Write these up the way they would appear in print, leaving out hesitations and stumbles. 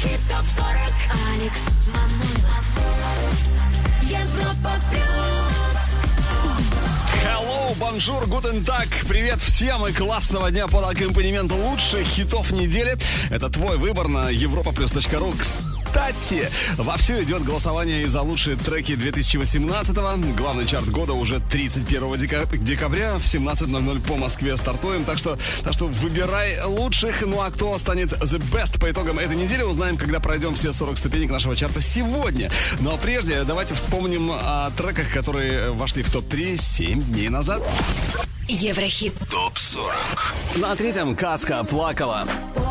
Еврохит ТОП-40. Алекс Манойлов. Европа плюс. Hello, bonjour, guten tag. Привет всем и классного дня под аккомпанемент лучших хитов недели. Это твой выбор на europaplus.ru. Кстати, вовсю идет голосование за лучшие треки 2018-го. Главный чарт года уже 31 декабря в 17:00 по Москве стартуем. Так что выбирай лучших. Ну а кто станет the best по итогам этой недели, узнаем, когда пройдем все 40 ступенек нашего чарта сегодня. Но прежде давайте вспомним о треках, которые вошли в топ-3 7 дней назад. Еврохит ТОП-40. На третьем «Казка» плакала.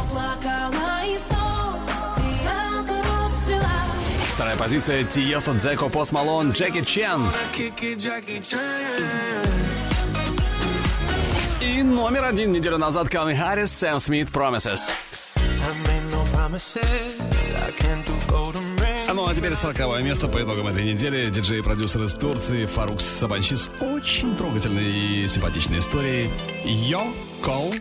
Вторая позиция Тиесто, Дзеко, Пост Малон, Джеки Чен. И номер 1 неделю назад Калвин Харрис, Сэм Смит, Promises. Ну а теперь 40-е место по итогам этой недели. Диджей и продюсер из Турции Фарукс Сабанчи с очень трогательной и симпатичной историей. Yo Call.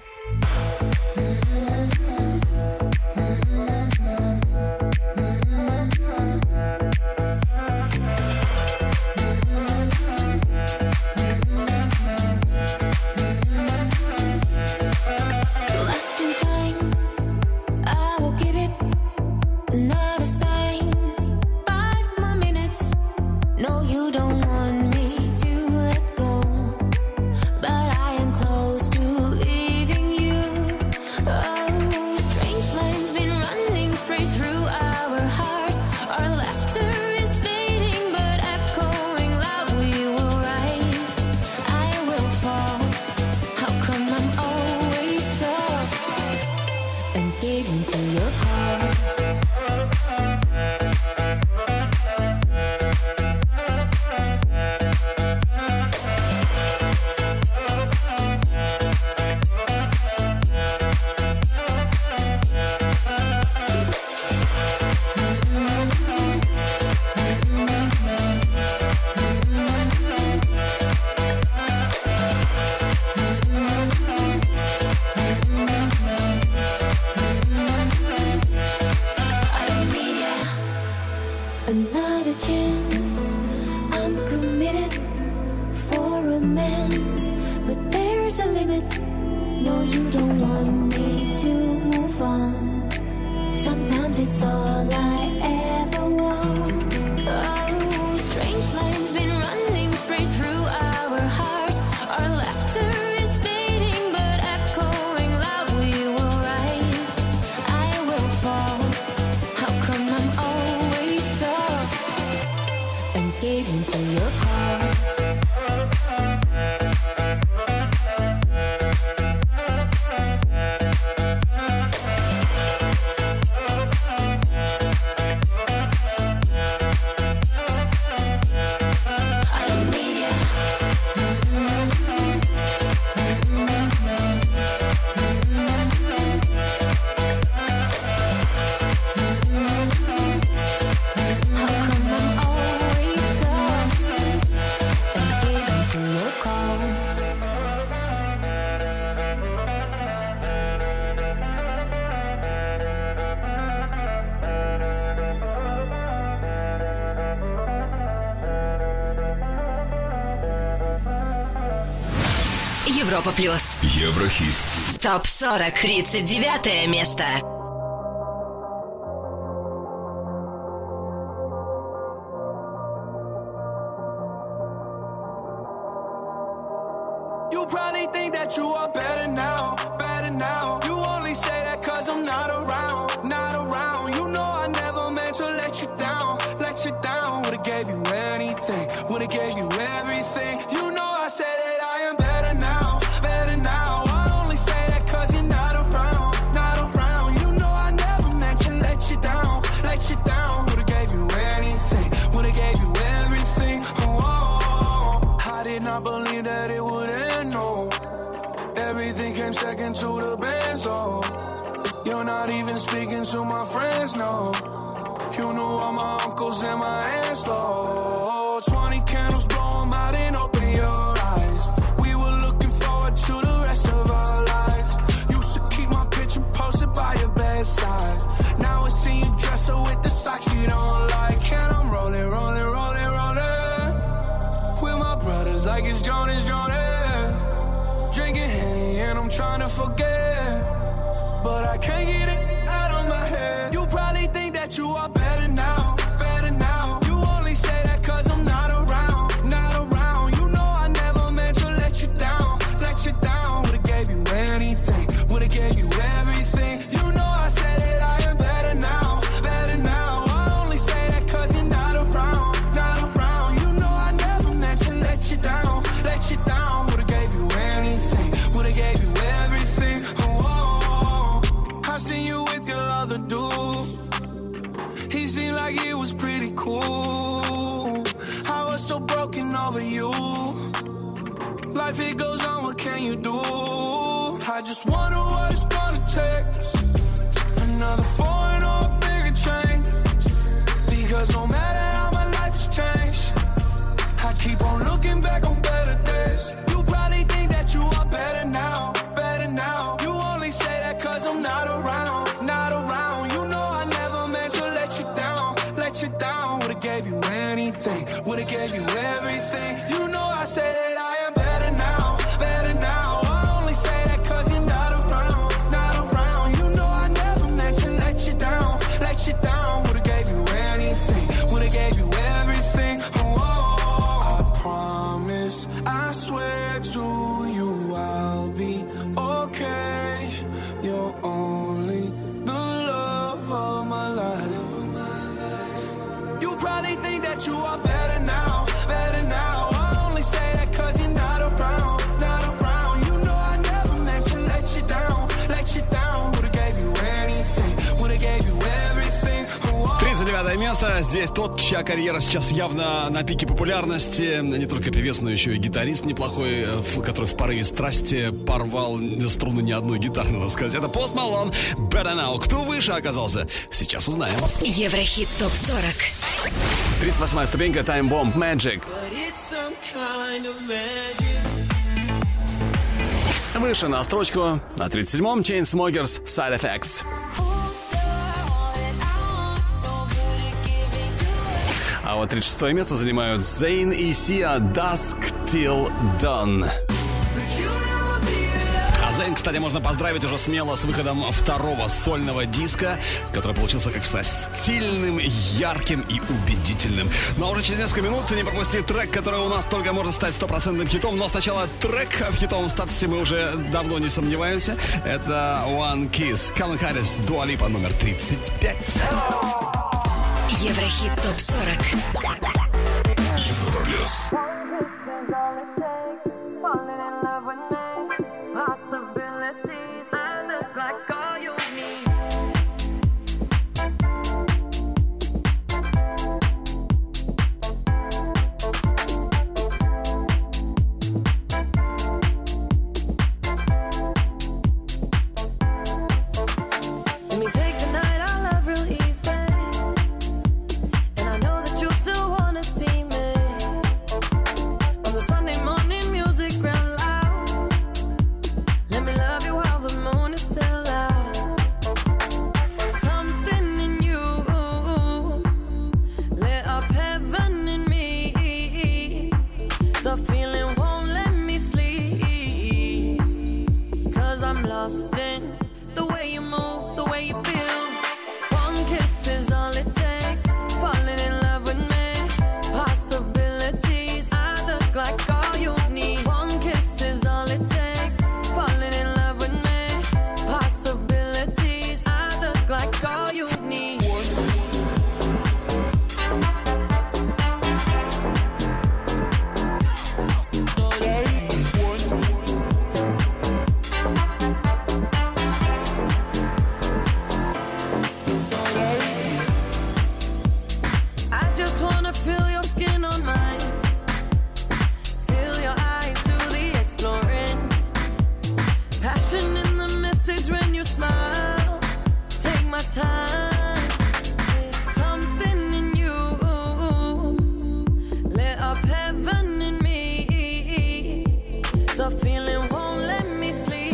Европа плюс. Еврохит. ТОП-40. 39 место. You probably think that you are better now, better now. You only say that cause I'm not around, not around. You know I never meant to let you down, let you down. Would've gave you anything, would've gave you everything. You know I said that I am better now, better now. I only say that cause you're not around, not around. You know I never meant to let you down, let you down. Would've gave you anything, would've gave you everything. Oh, I did not believe that it would end, no. Everything came second to the best, oh. You're not even speaking to my friends, no. You knew all my uncles and my aunts, oh. 20 candles, blow them out and open your eyes. We were looking forward to the rest of our lives. Used to keep my picture posted by your bedside. Now it's seeing you dresser with the socks you don't like. And I'm rolling, rolling, rolling, rolling with my brothers like it's Jonas, Jonas. Drinking Henny and I'm trying to forget, but I can't get it out of my head. You probably think that you are better now, better now. You only say that cause I'm not around, not around. You know I never meant to let you down, let you down. Would've gave you anything, would've gave you everything. You know I said that I am better now, better now. I only say that cause you're not around, not around. You know I never meant to let you down, let you down. Would've gave you anything, would've gave you everything. Oh, I seen you with your other dude. He seemed like he was pretty cool. I was so broken over you. Life it goes on, what can you do? I just wonder what it's gonna take. Another foreign or a bigger change. Because no matter how my life has changed, I keep on looking back on better days. You probably think that you are better now, better now. You only say that cause I'm not around, not around. You know I never meant to let you down, let you down. Would've gave you anything, would've gave you everything. You know I say that I am better now, better now. I only say that cause you're not around, not around. You know I never meant to let you down, let you down. Would've gave you anything, would've gave you everything. Oh, I promise, I swear to you I'll be okay. You're only the love of my life. You probably think that you are better now, better now. I only say that cause you're not around, not around. You know I never meant to let you down, let you down. Would've gave you anything, would've gave you everything. 39 место. Здесь тот, чья карьера сейчас явно на пике популярности. Не только певец, но еще и гитарист неплохой, который в порыве страсти порвал струны не одной гитары, надо сказать. Это Post Malone, Better Now. Кто выше оказался? Сейчас узнаем. Еврохит ТОП-40. 38-я ступенька, Time Bomb, Magic. Выше на строчку. На 37-м Chainsmokers, Side Effects. А вот 36-е место занимают Zayn и Sia, Dusk Till Dawn. А Zayn, кстати, можно поздравить уже смело с выходом второго сольного диска, который получился, как всегда, стильным, ярким и убедительным. Ну а уже через несколько минут не пропусти трек, который у нас только может стать стопроцентным хитом. Но сначала трек в хитовом статусе мы уже давно не сомневаемся. Это One Kiss, Calvin Harris, Dua Lipa, номер 35. Еврохит ТОП-40. Европа Плюс.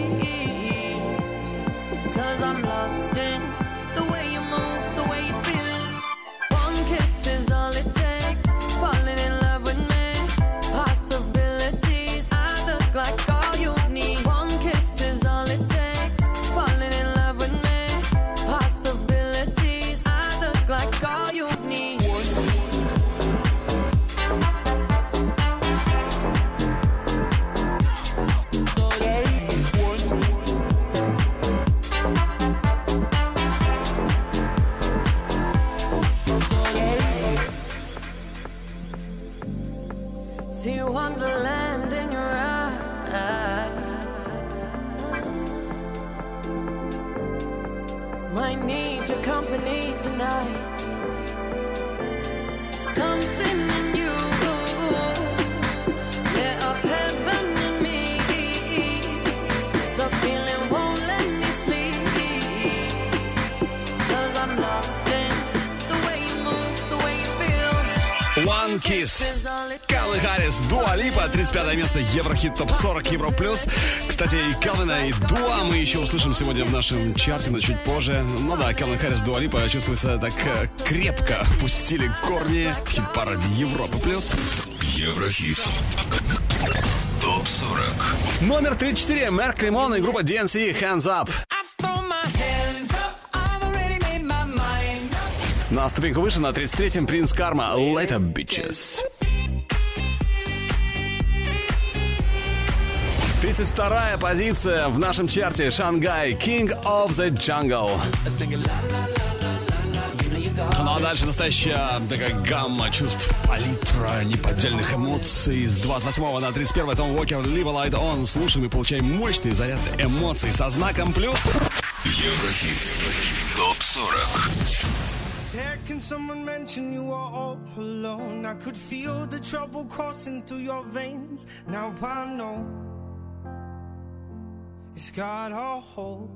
I'm lost in the way you move, the way you feel. Might need your company tonight. Something in you lit up heaven in me. The feeling won't let me sleep, 'cause I'm lost in the way you move, the way you feel. One Kiss. Калвин Харрис, Дуа Липа, 35 место, Еврохит ТОП 40 Евро Плюс. Кстати, и Калвина, и Дуа мы еще услышим сегодня в нашем чарте, но чуть позже. Ну да, Калвин Харрис, Дуа Липа чувствуется так крепко. Пустили корни в хит-параде Европа Плюс. Еврохит ТОП 40. Номер 34. Марк Римон и группа DNC Hands Up. На ступеньку выше, на 33-м Принц Карма Later Bitches. 32-я позиция в нашем чарте. Шангай King of the Jungle. Ну а дальше настоящая такая гамма чувств, палитра неподдельных эмоций. С 28 на 31 Том Уокер Live a Light On. Слушаем и получаем мощный заряд эмоций со знаком плюс. Еврохит ТОП 40. Can someone mention you are all alone? I could feel the trouble coursing through your veins. Now I know it's got a hold.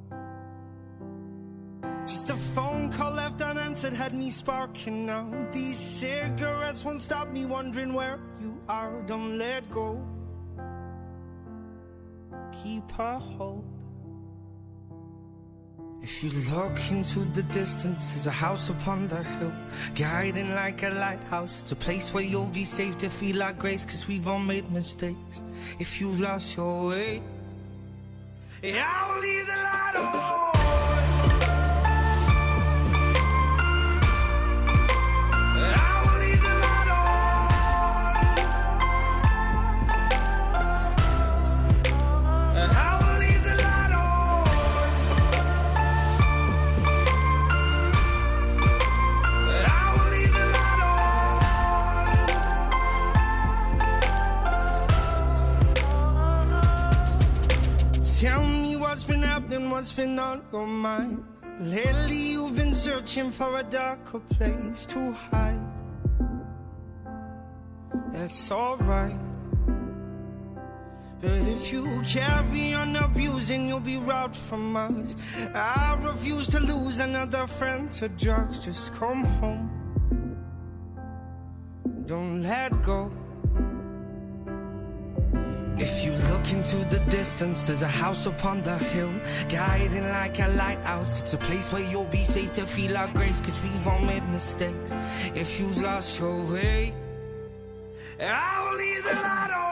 Just a phone call left unanswered had me sparking now. These cigarettes won't stop me wondering where you are. Don't let go. Keep a hold. If you look into the distance, there's a house upon the hill, guiding like a lighthouse. It's a place where you'll be safe to feel like grace, 'cause we've all made mistakes. If you've lost your way, yeah, I'll leave the light on. Tell me what's been happening, what's been on your mind. Lately you've been searching for a darker place to hide. That's alright, but if you carry on abusing, you'll be robbed from us. I refuse to lose another friend to drugs. Just come home, don't let go. If you look into the distance, there's a house upon the hill, guiding like a lighthouse. It's a place where you'll be safe to feel our grace, 'cause we've all made mistakes. If you've lost your way, I will leave the light on.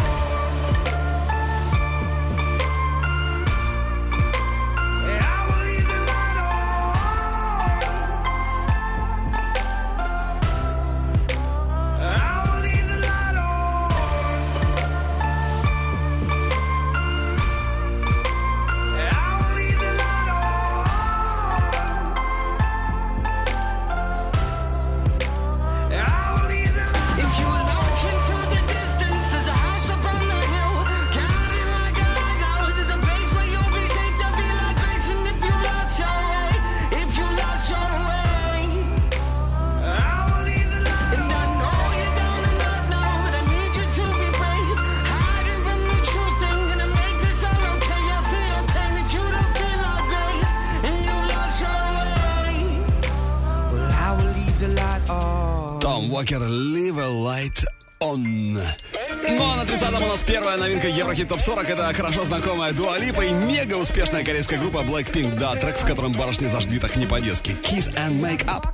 Уокер Live a Light On. Ну а на 30-м у нас первая новинка Еврохит ТОП 40. Это хорошо знакомая Дуа Липа и мега успешная корейская группа Blackpink. Да, трек, в котором барышни зажгли так не по-детски. Kiss and Make Up.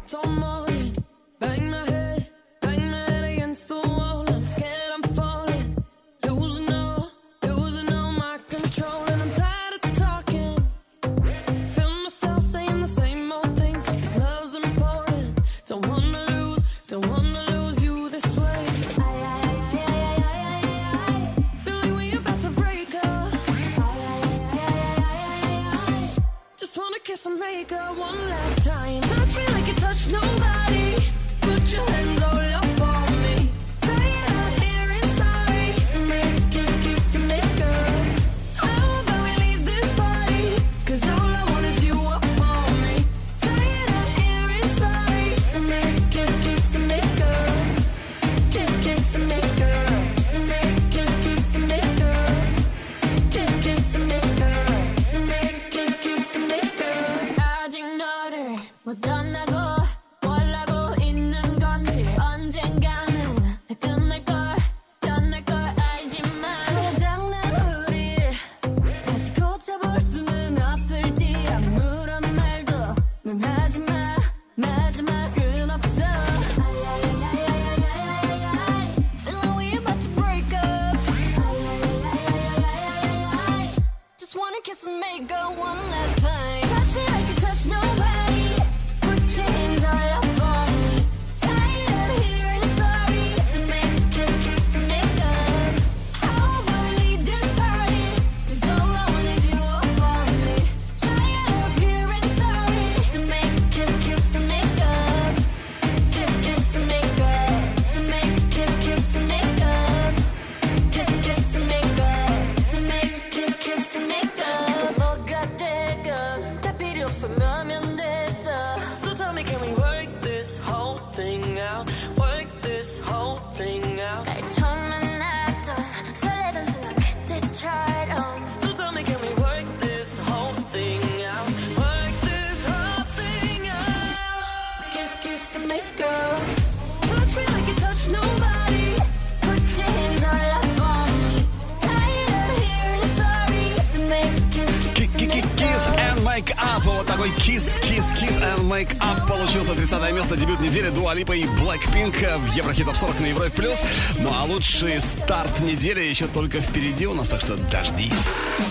벗어나면 됐어. So tell me, can we work this whole thing out? Work this whole thing out. 날 처음 만났던 설레던 순간 그때처럼. So tell me, can we work this whole thing out? Work this whole thing out. Kiss and make up. Touch me like you touch nobody. Put your hands all up on me. Tired of hearing sorry. So make Kiss and Make Up. Вот такой Kiss and Make Up получился. 30 место, дебют недели Дуа Липа и Blackpink в Еврохит Топ 40 на Европе Плюс. Ну а лучший старт недели еще только впереди у нас, так что дождись.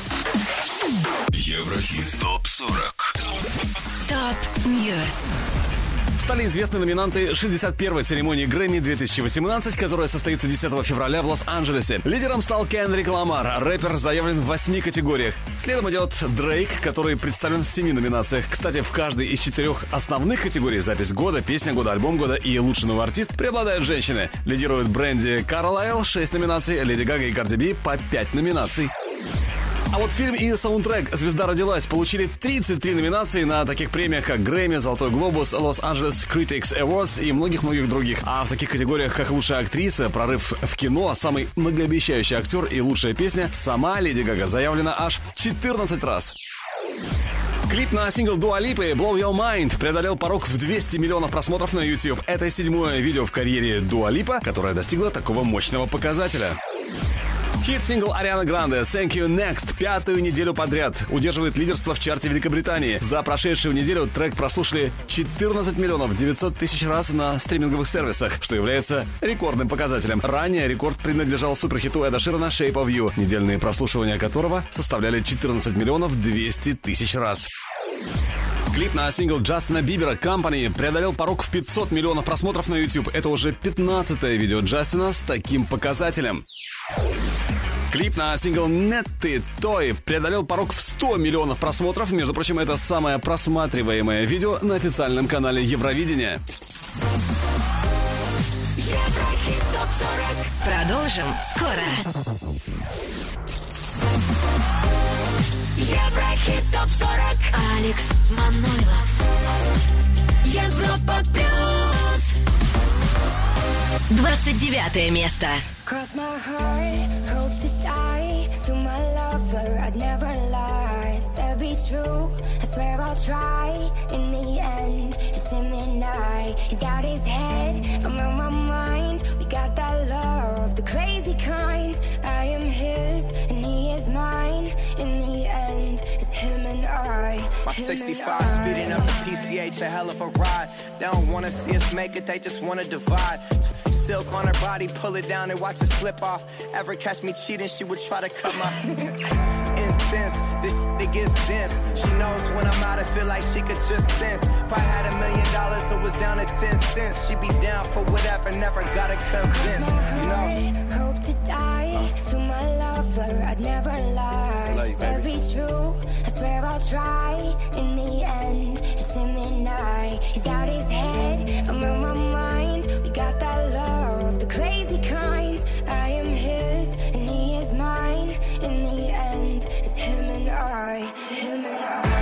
Еврохит Топ 40. Топ Ньюс. Стали известны номинанты 61-й церемонии Грэмми 2018, которая состоится 10 февраля в Лос-Анджелесе. Лидером стал Кендрик Ламар. Рэпер заявлен в 8 категориях. Следом идет Дрейк, который представлен в 7 номинациях. Кстати, в каждой из 4 основных категорий — запись года, песня года, альбом года и лучший новый артист — преобладают женщины. Лидируют Брэнди Карлайл — 6 номинаций, Леди Гага и Карди Би — по 5 номинаций. А вот фильм и саундтрек «Звезда родилась» получили 33 номинации на таких премиях, как Грэмми, Золотой глобус, Los-Angeles Critics Awards и многих-многих других. А в таких категориях, как лучшая актриса, прорыв в кино, самый многообещающий актер и лучшая песня, сама Леди Гага заявлена аж 14 раз. Клип на сингл Дуа Липы «Blow Your Mind» преодолел порог в 200 миллионов просмотров на YouTube. Это 7-е видео в карьере Дуа Липа, которое достигло такого мощного показателя. Хит-сингл Арианы Гранде «Thank You Next» 5-ю неделю подряд удерживает лидерство в чарте Великобритании. За прошедшую неделю трек прослушали 14 миллионов 900 тысяч раз на стриминговых сервисах, что является рекордным показателем. Ранее рекорд принадлежал суперхиту Эда Ширана «Shape of You», недельные прослушивания которого составляли 14 миллионов 200 тысяч раз. Клип на сингл Джастина Бибера «Company» преодолел порог в 500 миллионов просмотров на YouTube. Это уже 15-е видео Джастина с таким показателем. Клип на сингл «Netty Toy» преодолел порог в 100 миллионов просмотров. Между прочим, это самое просматриваемое видео на официальном канале Евровидения. Еврохит Топ 40. Продолжим скоро. Еврохит Топ 40. Алекс Манойлов. Европа Плюс. 29 место. Cross my heart, hope to die. To my lover, I'd never lie. Said be true, I swear I'll try. In the end, it's him and I. He's out his head, I'm on my mind. We got that love, the crazy kind. I am his, and he is mine. In the end, it's him and I. My 65 speeding up the PCH, a hell of a ride. They don't wanna see us make it, they just wanna divide. Silk on her body, pull it down and watch it slip off. Ever catch me cheating, she would try to cut my incense. This it gets dense. She knows when I'm out, I feel like she could just sense. If I had $1 million, it was down to 10 cents. She'd be down for whatever, never gotta convince. You know? Hope to die to my lover, I'd never lie. Love you, Said baby. be true, I swear I'll try. In the end, it's him and I. He's out his head, I'm on my mind. We got that love, the crazy kind. I am his, and he is mine. In the end, it's him and I. Him and I.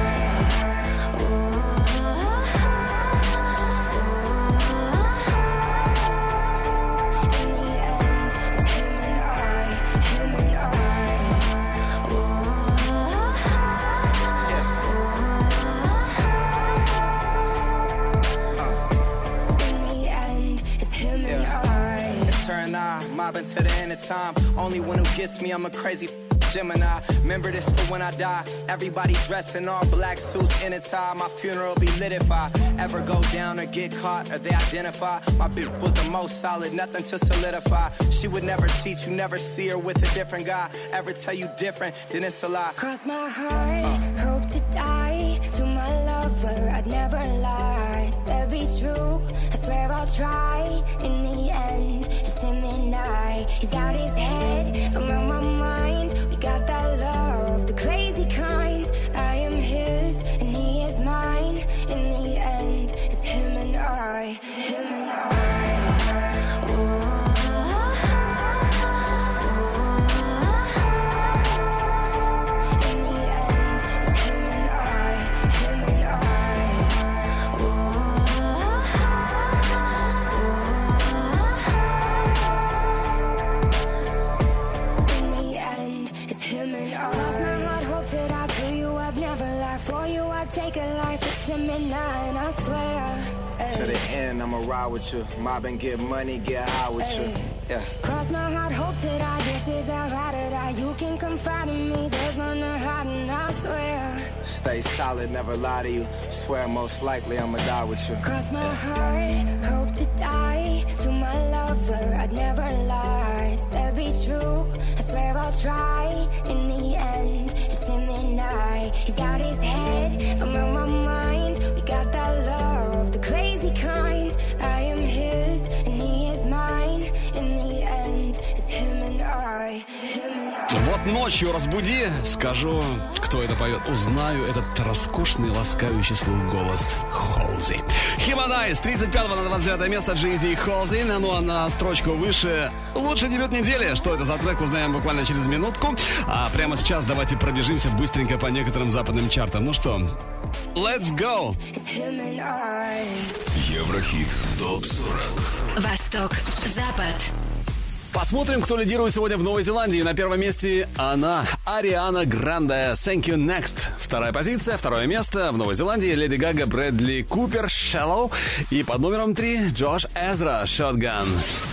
Mobbing to the end of time. Only one who gets me, I'm a crazy Gemini. Remember this for when I die. Everybody dressed in all black suits in a tie. My funeral be lit if I ever go down or get caught or they identify. My bitch was the most solid, nothing to solidify. She would never cheat, you never see her with a different guy. Ever tell you different, then it's a lie. Cross my heart, hope to die. To my lover, I'd never lie. Said be true, I swear I'll try. In the end, it's him and I. He's out his head, I'm on my mind. We got that love, the crazy kind. I am his, and he is mine. In the end, it's him and I. Him and I. In the end, it's him and I. Him and I. take a life at 10 midnight, I swear. To the end, I'ma ride with you. Mob and get money, get high with you. Yeah. Cross my heart, hope to die. This is how I to die. You can confide in me. There's none to hide, and I swear. Stay solid, never lie to you. Swear most likely I'ma die with you. Cross my heart, hope to die. To my lover, I'd never lie. Said be true, I swear I'll try. In the end, it's him and I. He's out his head, I'm on my mind. We got that love, the crazy kind. I am his, and he is mine. In the end, it's him and I. Him and I. Вот ночью разбуди, скажу, кто это поет. Узнаю этот роскошный, ласкающий слух голос Холзи. Химадай с 35 на 29 место Джей-Зи и Холзи. Ну а на строчку выше лучший дебют недели. Что это за трек, узнаем буквально через минутку. А прямо сейчас давайте пробежимся быстренько по некоторым западным чартам. Ну что, let's go! Еврохит ТОП-40. Восток, Запад. Посмотрим, кто лидирует сегодня в Новой Зеландии. На первом месте она, Ариана Гранде, Thank You Next. Вторая позиция, второе место в Новой Зеландии, Леди Гага, Брэдли Купер, Shallow. И под номером 3 Джош Эзра, Shotgun.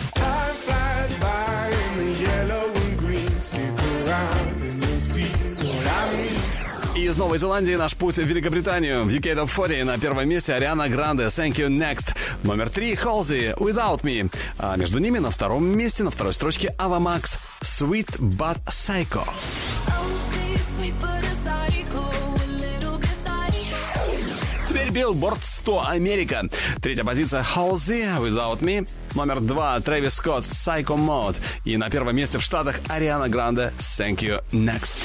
И из Новой Зеландии наш путь в Великобританию. В UK Top 40 на первом месте Ариана Гранде, Thank You Next. Номер 3 Холзи, Without Me. А между ними на втором месте, на второй строчке Ava Max, Sweet But Psycho. Теперь Billboard 100 Америка. Третья позиция Холзи, Without Me. Номер 2 Трэвис Скотт, Psycho Mode. И на первом месте в Штатах Ариана Гранде, Thank You Next.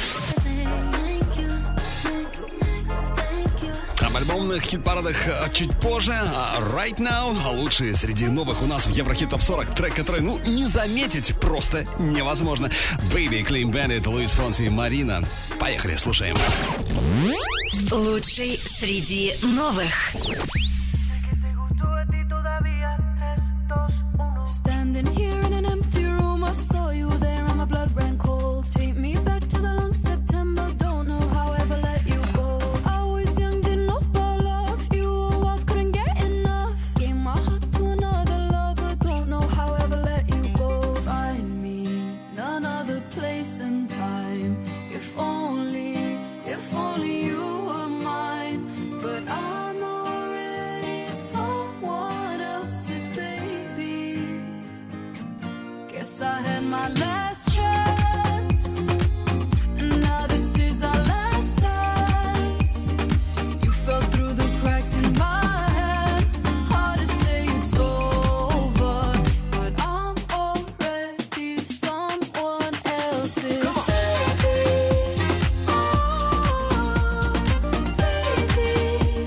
Об альбомных хит-парадах чуть позже. А Right Now лучшие среди новых у нас в Еврохит Топ 40. Трек, который, не заметить просто невозможно. Baby, Clean Bandit, Луис Фонси и Марина. Поехали, слушаем. Лучший среди новых. Standing here in an empty room, I saw you there and my blood ran cold. Take me back to the long September, don't know how I ever let you go. I was young, didn't know about love. You were wild, couldn't get enough. Gave my heart to another lover, don't know how I ever let you go. Find me none other place and time. If only you were mine. But I'm already someone else's baby. Guess I had my last chance, and now this is our last dance. You fell through the cracks in my hands. Hard to say it's over, but I'm already someone else's baby. Oh, baby.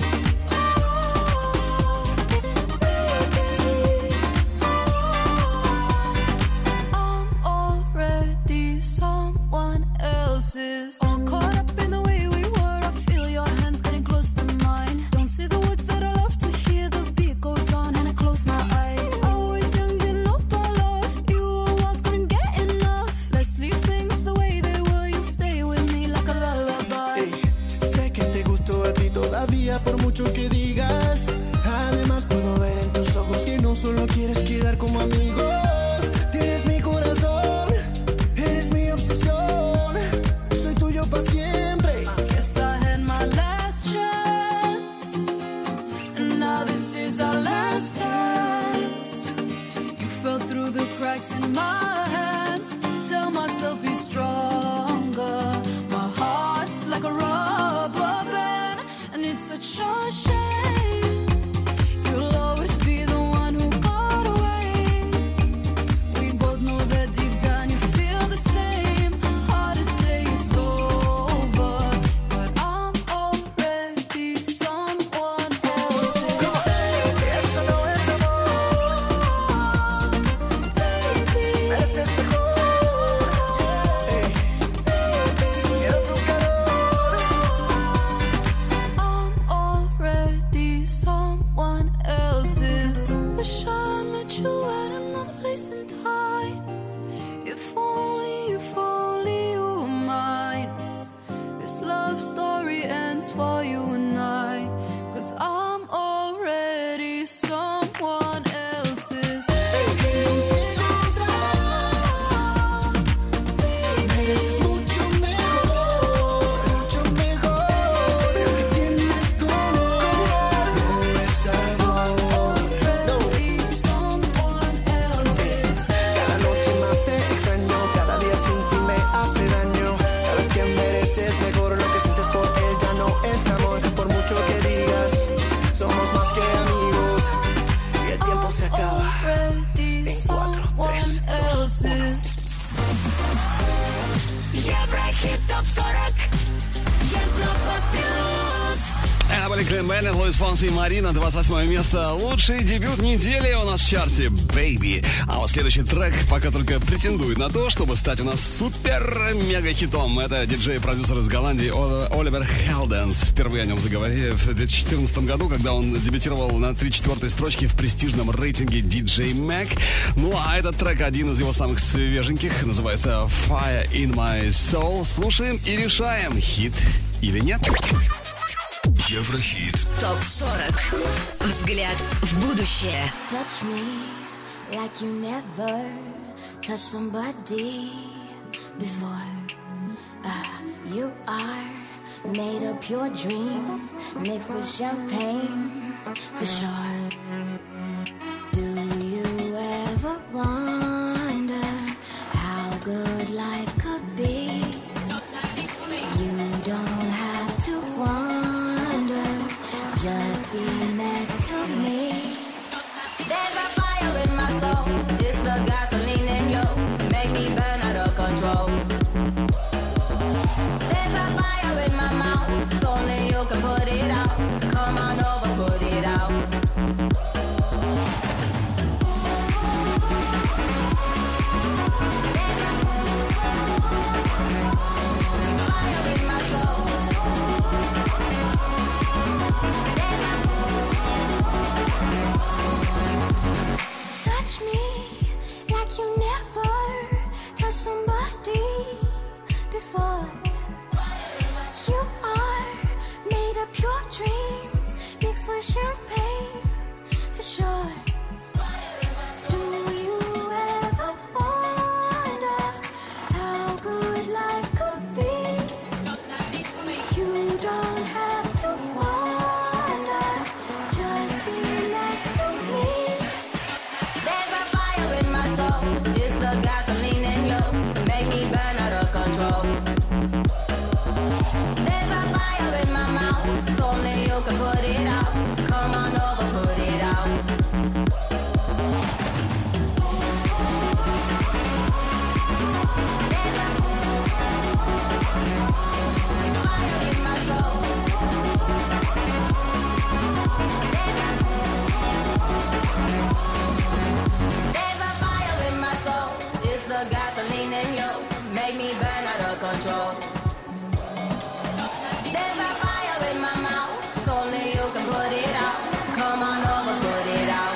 I'm already someone else's. All caught up in the way we were. I feel your hands getting close to mine. Don't say the words that I love to hear. The beat goes on and I close my eyes. I was young, didn't know about love. You were wild, couldn't get enough. Let's leave things the way they were. You stay with me like a lullaby. Ey, sé que te gustó a ti todavía por mucho que digas. Además puedo ver en tus ojos que no solo quieres quedar como amigos. Tienes mi corazón, eres mi obsesión. Soy tuyo para siempre. Guess I had my last chance, and now this is our last dance. You fell through the cracks in my hands. Tell myself be stronger. My heart's like a rubber band, and it's such a shame. You'll always be the one who got away. We both know that deep down you feel the same. Hard to say it's over, but I'm already someone else's baby. Eso no es amor, Baby, mereces mejor. Ey, quiero tu calor. I'm already someone Клин Беннет, Луис Фонси и Марина. 28 место. Лучший дебют недели у нас в чарте «Baby». А вот следующий трек пока только претендует на то, чтобы стать у нас супер-мега-хитом. Это диджей-продюсер из Голландии Оливер Хелденс. Впервые о нем заговорили в 2014 году, когда он дебютировал на 3-4 строчке в престижном рейтинге DJ Mag. Ну а этот трек один из его самых свеженьких. Называется «Fire in My Soul». Слушаем и решаем, хит или нет. Еврохит. ТОП-40. Взгляд в будущее. Touch me like you never touched somebody before. You are made of pure dreams mixed with champagne for sure. Do you ever wonder how good life could be? You don't have to wonder, just be next to me. There's a fire in my soul, it's the gasoline in you, make me burn out of control. There's a fire in my mouth, only you can put it out. Come on over, put it out. Touch me like you never touched somebody before. You are made of pure dreams mixed with champagne for sure. Do you ever wonder how good life could be? You don't have to wonder, just be next to me. There's a fire in my soul, it's the gasoline in you, make me burn out of control. There's a fire in my mouth, only you can put it out. Come on over, put it out. There's a fire in my soul. There's a fire in my soul, it's the gasoline in you, make me burn out of control. There's a fire in my mouth, only you can put it out. Come on over, put it out.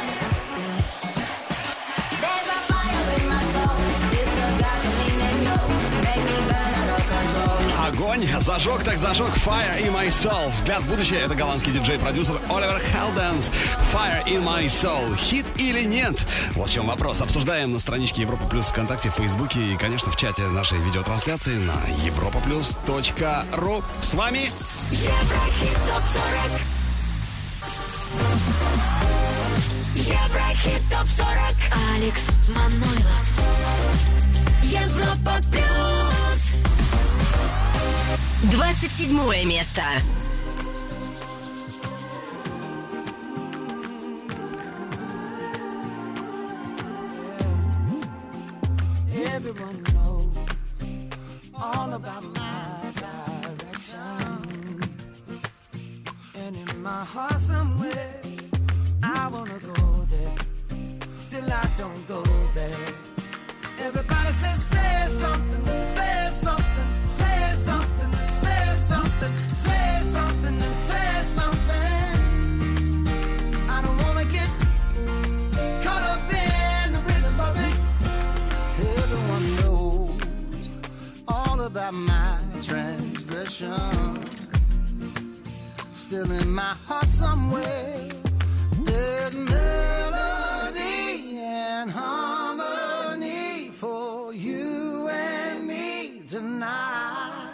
There's a fire in my soul, it's the gasoline in you, make me burn out of control. Огонь, зажег так зажег. Fire in My Soul. Взгляд в будущее. Это голландский диджей-продюсер Оливер Хелденс. Fire in My Soul. Хит или нет? Вот в чем вопрос. Обсуждаем на страничке Европа Плюс ВКонтакте, в Фейсбуке и, конечно, в чате нашей видеотрансляции на europaplus.ru. С вами Еврохит ТОП-40. Еврохит ТОП-40. Алекс Манойлов. Европа Плюс. 27 место. Everyone knows all about my direction. And in my heart somewhere, I wanna go there. Still I don't go there. Everybody says, say something, say something, say something, say something, say something, and say something. I don't wanna get caught up in the rhythm of it. Everyone knows all about my transgression. Still in my heart somewhere, there's melody and harmony for you and me tonight.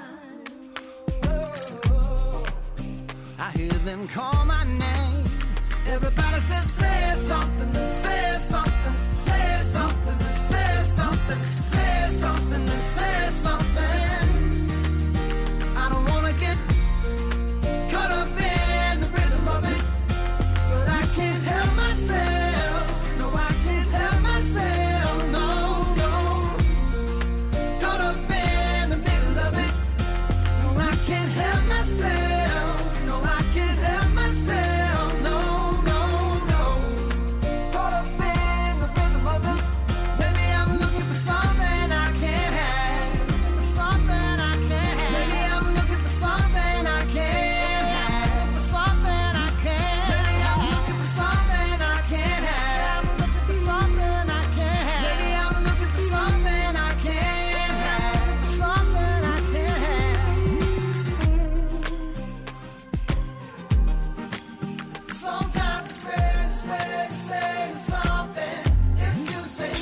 I hear them call my name. Everybody says, say something, say something, say something, say something, say something, say something. I don't wanna get caught up in the rhythm of it, but I can't help myself. No, I can't help myself. No, no. Caught up in the middle of it. No, I can't help myself. No, I can't help myself.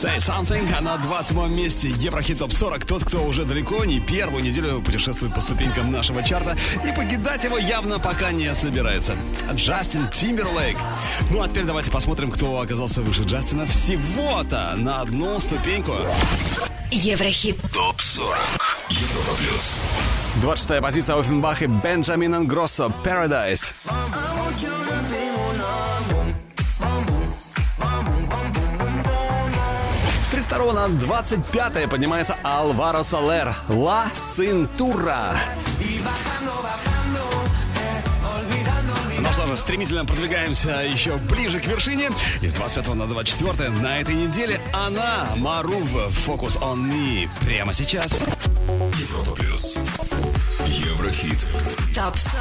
Say Something, а на 27-м месте Еврохит Топ 40. Тот, кто уже далеко не первую неделю путешествует по ступенькам нашего чарта, и покидать его явно пока не собирается. Джастин Тимберлейк. Ну а теперь давайте посмотрим, кто оказался выше Джастина всего-то на одну ступеньку. Еврохит Топ 40. Европа плюс. 26-я позиция Оффенбах и Бенджамин Ингроссо Paradise. С 32 на 25 поднимается Алваро Солер «Ла Синтура». Ну что же, стремительно продвигаемся еще ближе к вершине. Из 25 на 24 на этой неделе она, Марув, «Focus on Me». Прямо сейчас. Европа плюс. Еврохит. Топ 40.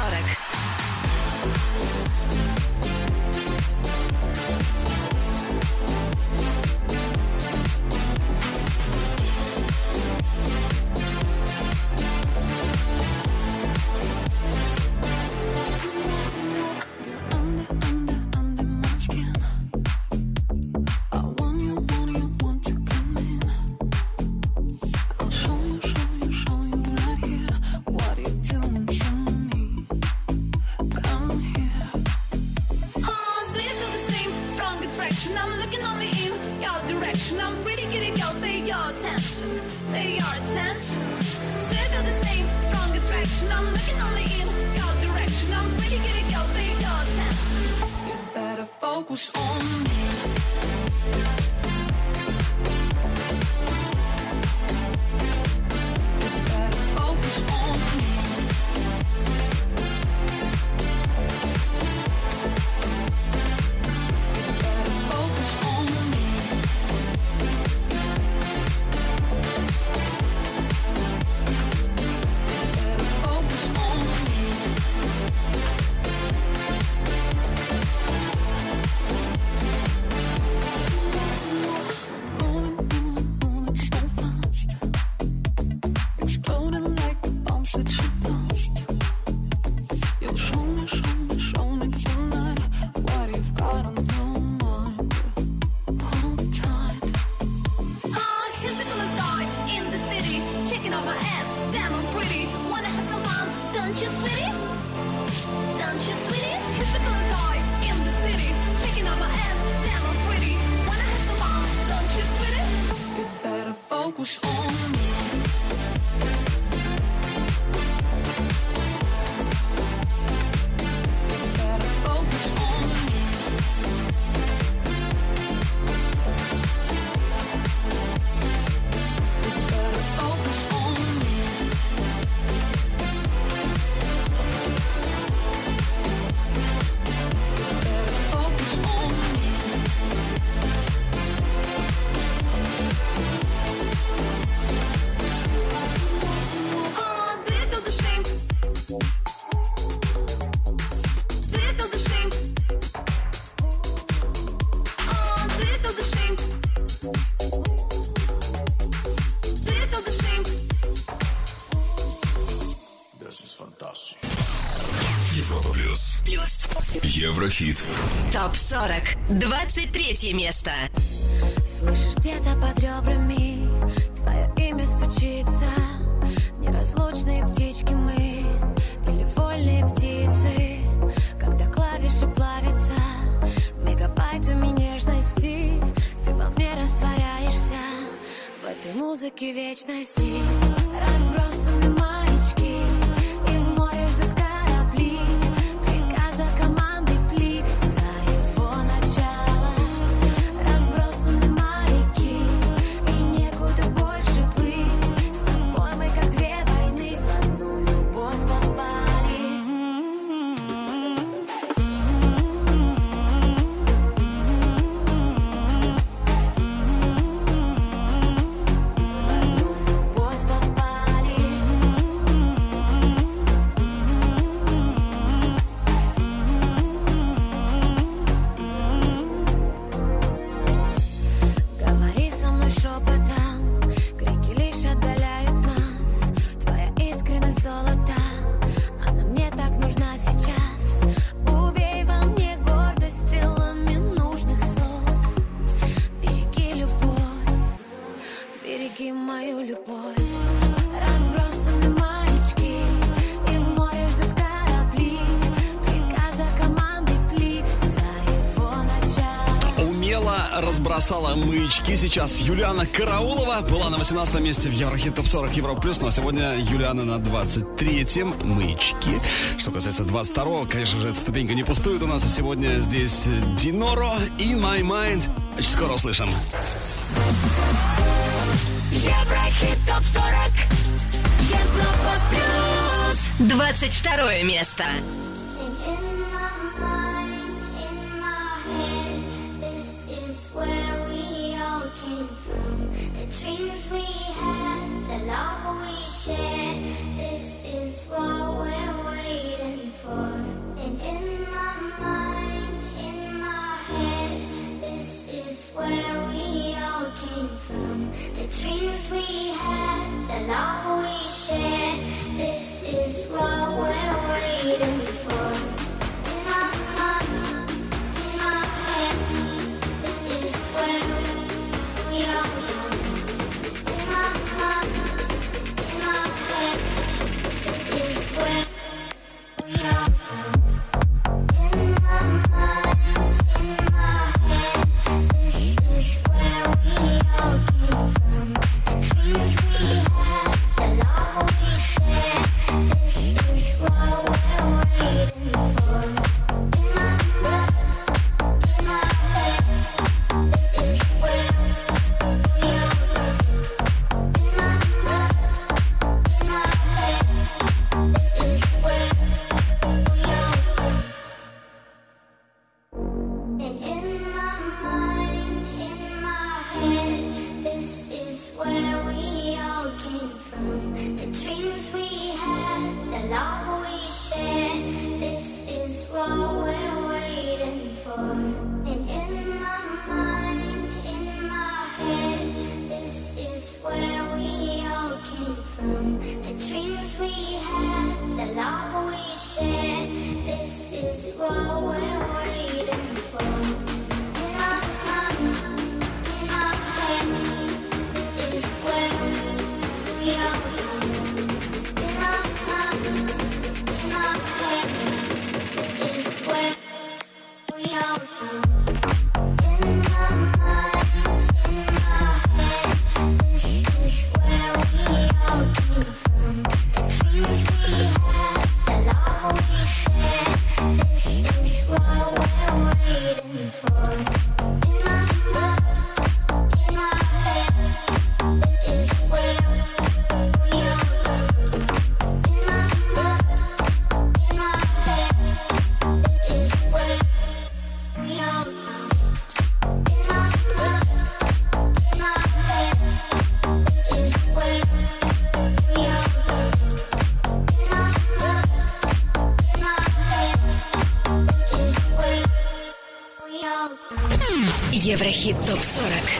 Еврохит. Топ 40. 23 место. Слышишь, где-то под ребрами твое имя стучится. Неразлучные птички мы или вольные птицы. Когда клавиши плавятся мегабайтами нежности, ты во мне растворяешься в этой музыке вечности. Разбросаны маячки, и в море ждут корабли. Приказа команды плит своего начала. Разбросаны маяки, и некуда больше плыть. С тобой мы как две войны в одну любовь попали. В одну любовь попали. разбросала маячки. Сейчас Юлиана Караулова была на 18 месте в Еврохит Топ 40 Европа Плюс. Ну а сегодня Юлиана на 23-м. Маячки. Что касается 22-го, конечно же, эта ступенька не пустует у нас. И сегодня здесь Диноро, In My Mind. Очень скоро услышим. Еврохит Топ 40 Европа Плюс. 22 место. Dreams we had, the love we shared, this is what we're waiting for. And in my mind, in my head, this is where we all came from. The dreams we had, the love we shared, this is what we're waiting for. In my mind, in my head, this is where we all came from. Еврохит Топ 40.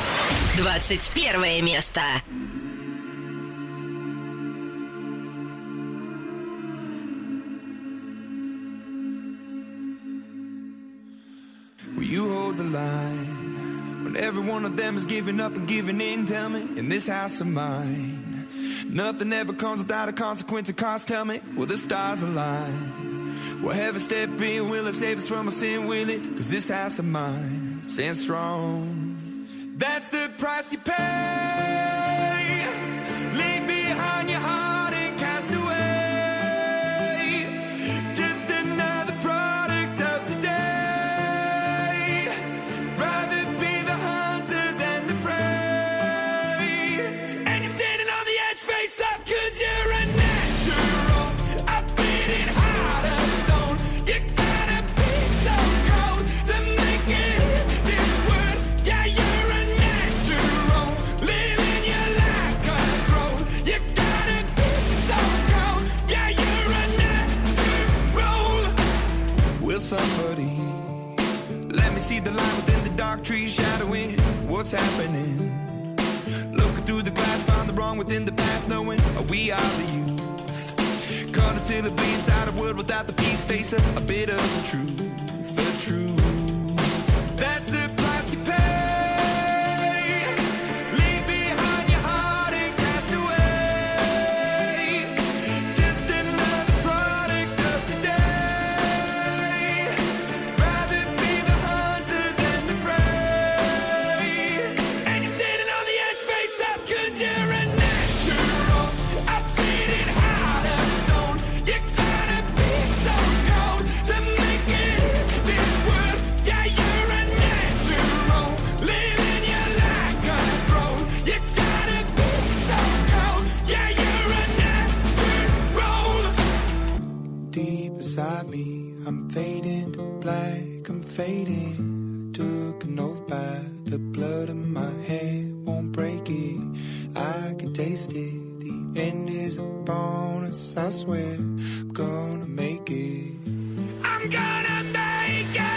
21 место. Will you hold the line when every one of them is giving up and giving in? Tell me, in this house of mine, nothing ever comes without a consequence of cost. Tell me, will the stars align? Will heaven step in? Will it save us from our sin? Will it? 'Cause this house of mine stands strong. That's the price you pay. Leave behind your heart and cast away. Just another product of today. Rather be the hunter than the prey. And you're standing on the edge, face up, 'cause you're a natural. A beating heart of stone. You gotta be so cold to make it in this world. Yeah, you're a natural. Living your life control. You gotta be so cold. Yeah, you're a natural. Will somebody let me see the line within the dark trees shadowing what's happening? Looking through the glass, find the wrong within the past, knowing we are the youth. Cut until it bleeds out of wood without the peace, face a bit of the truth, the truth. That's the price you pay. Leave behind your heart and cast away. Just another product of today. Rather be the hunter than the prey. fading. Took an oath by the blood in my hand, won't break it. I can taste it. The end is upon us. I swear I'm gonna make it. I'm gonna make it.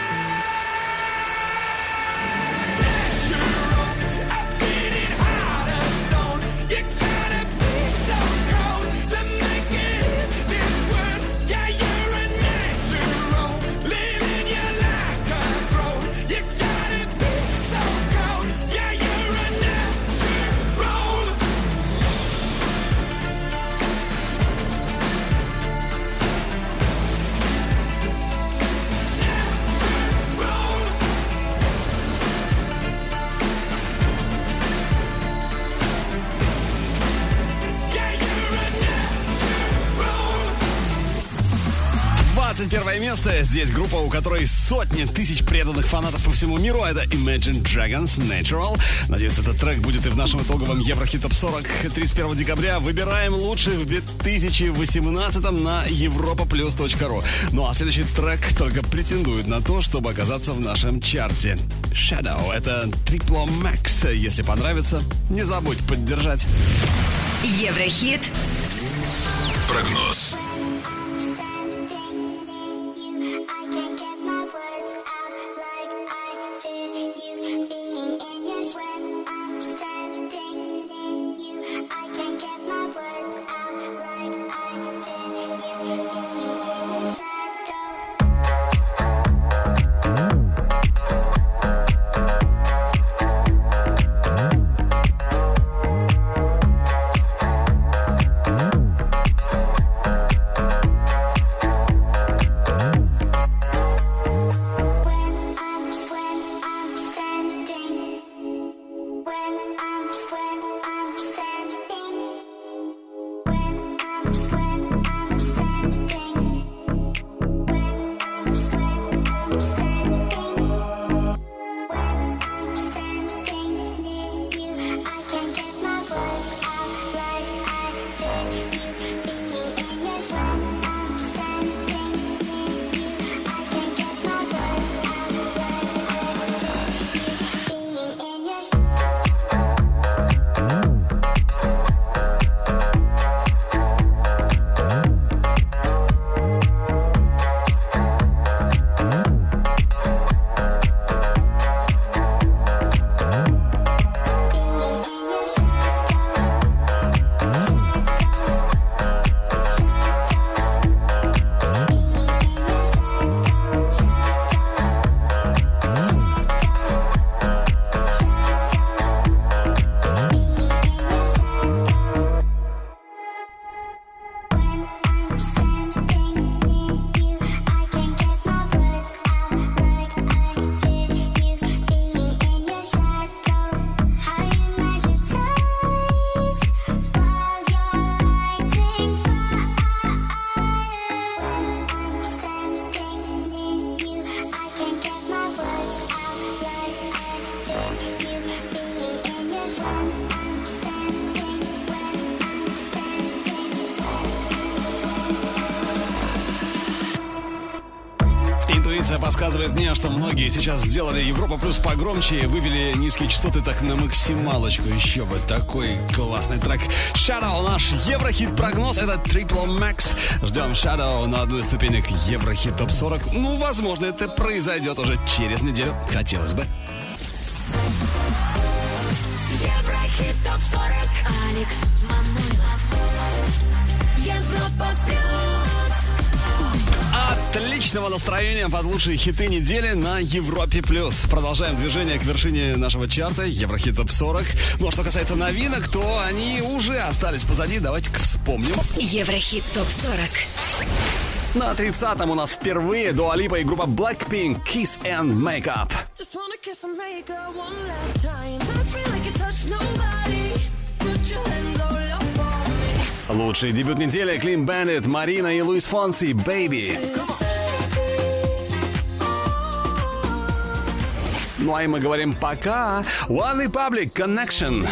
Первое место. Здесь группа, у которой сотни тысяч преданных фанатов по всему миру. Это Imagine Dragons Natural. Надеюсь, этот трек будет и в нашем итоговом Еврохит Топ 40 31 декабря. Выбираем лучших в 2018 на europaplus.ru. Ну а следующий трек только претендует на то, чтобы оказаться в нашем чарте. Shadow. Это Triple Max. Если понравится, не забудь поддержать. Еврохит. Прогноз. Подсказывает мне, что многие сейчас сделали Европа Плюс погромче и вывели низкие частоты так на максималочку. Еще бы, такой классный трек. Shadow, наш Еврохит прогноз, это Triple Max. Ждем Shadow на одну из ступенек Еврохит Топ 40. Ну, возможно, это произойдет уже через неделю. Хотелось бы. Еврохит Топ 40. Алекс Манойлов. Европа Плюс. Отличного настроения под лучшие хиты недели на Европе+. Продолжаем движение к вершине нашего чарта Еврохит Топ 40. Ну а что касается новинок, то они уже остались позади. Давайте-ка вспомним. Еврохит Топ 40. На 30-м у нас впервые Дуа Липа и группа Blackpink Kiss and Make Up. Лучший дебют недели Clean Bandit, Марина и Луис Фонси Baby. Ну а и мы говорим пока. One Republic Connection.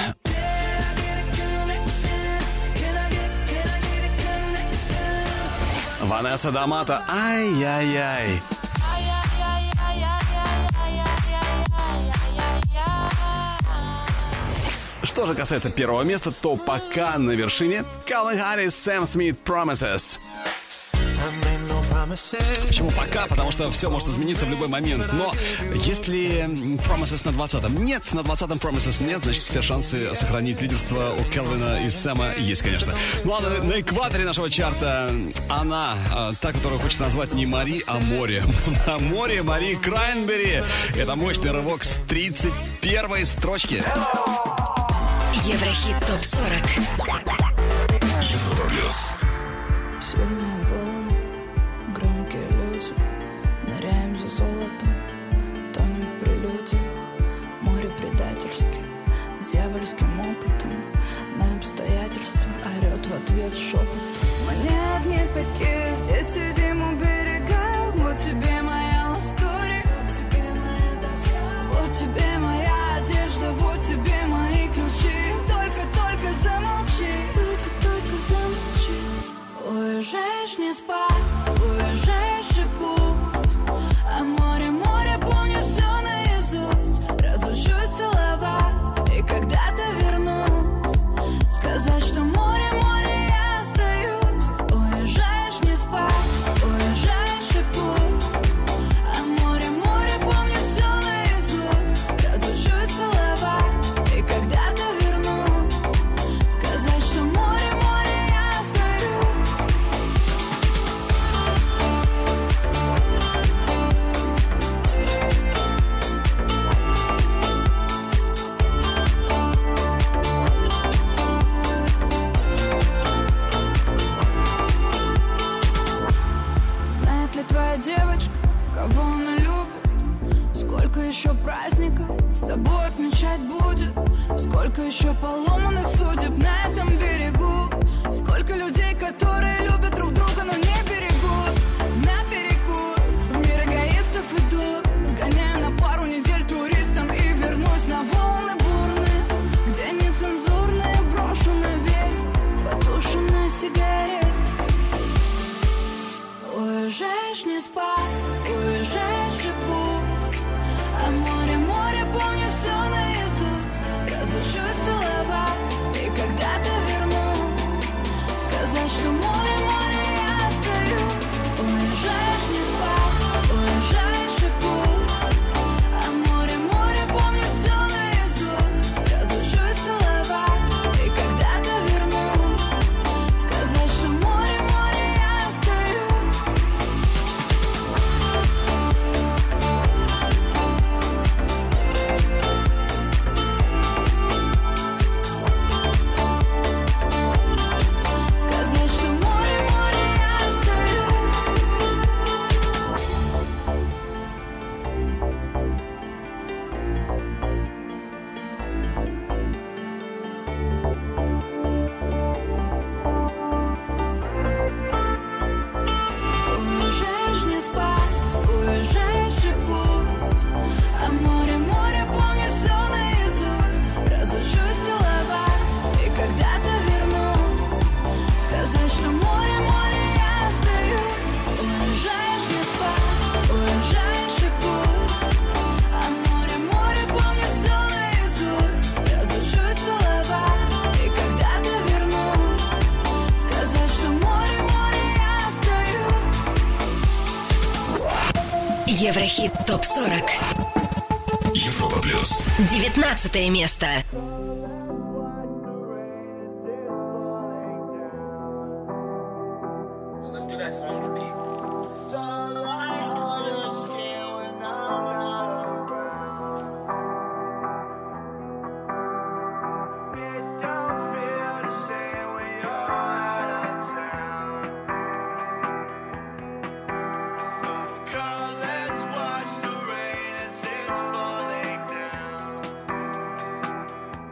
Ванесса Дамата. Ай-яй-яй. что же касается первого места, то пока на вершине Калвин Харрис, Сэм Смит, Promises. Почему пока? Потому что все может измениться в любой момент. Но если Promises на 20-м нет, на 20-м Promises нет, значит все шансы сохранить лидерство у Келвина и Сэма есть, конечно. Ну а на экваторе нашего чарта она, та, которую хочется назвать не Мари, а Море. А Море Мари Крайнбери. Это мощный рывок с 31-й строчки. Еврохит ТОП-40. Европа плюс. Сильные волны, громкие люди, ныряем за золотом, тонем в прелюдиях, море предательски, с дьявольским опытом, на обстоятельства орет в ответ шепот. Мы не одни такие, здесь сидим у берега, вот тебе моя love story, вот тебе моя доска, вот тебе моя одежда, вот тебе мои ключи, только замолчи, только замолчи. Уезжаешь не спать, уезжаешь и пусть, а море помнит все наизусть. Разучусь целовать и когда-то вернусь, сказать, что море, я остаюсь. Уезжаешь не спать, уезжаешь и пусть, а море помнит все наизусть. Разучусь целовать и когда-то вернусь, сказать, что море, я остаюсь. 'Знает ли твоя девочка, кого она любит? Сколько еще праздников с тобой отмечать будет? Сколько еще поломанных судеб на этом берегу? Сколько людей, которые любят друг друга, но не берегут? На перекур в мир эгоистов иду, сгоняю на пару недель туристом и вернусь на волны бурные, где нецензурные брошу навек потушенная сигарет. Уезжаешь не спать, уезжаешь и пусть, а море помнит все наизусть. Разучусь целовать и когда-то вернусь, сказать, что море, я остаюсь. Уезжаешь не спать, уезжаешь и пусть, а море помнит все наизусть. Разучусь целовать и когда-то вернусь, сказать, что море, я остаюсь. Сказать, что море, я остаюсь. Уезжаешь не спать, уезжаешь и пусть, а море помнит все наизусть. Разучусь целовать и когда-то вернусь, сказать, что море, я остаюсь. Уезжаешь не спать, уезжаешь и пусть, а море помнит все наизусть. Разучусь целовать и когда-то вернусь, сказать, что море, я остаюсь. Еврохит ТОП-40. Европа плюс. 19 место. Let's do that song for Pete. Let's watch the rain as it's falling down.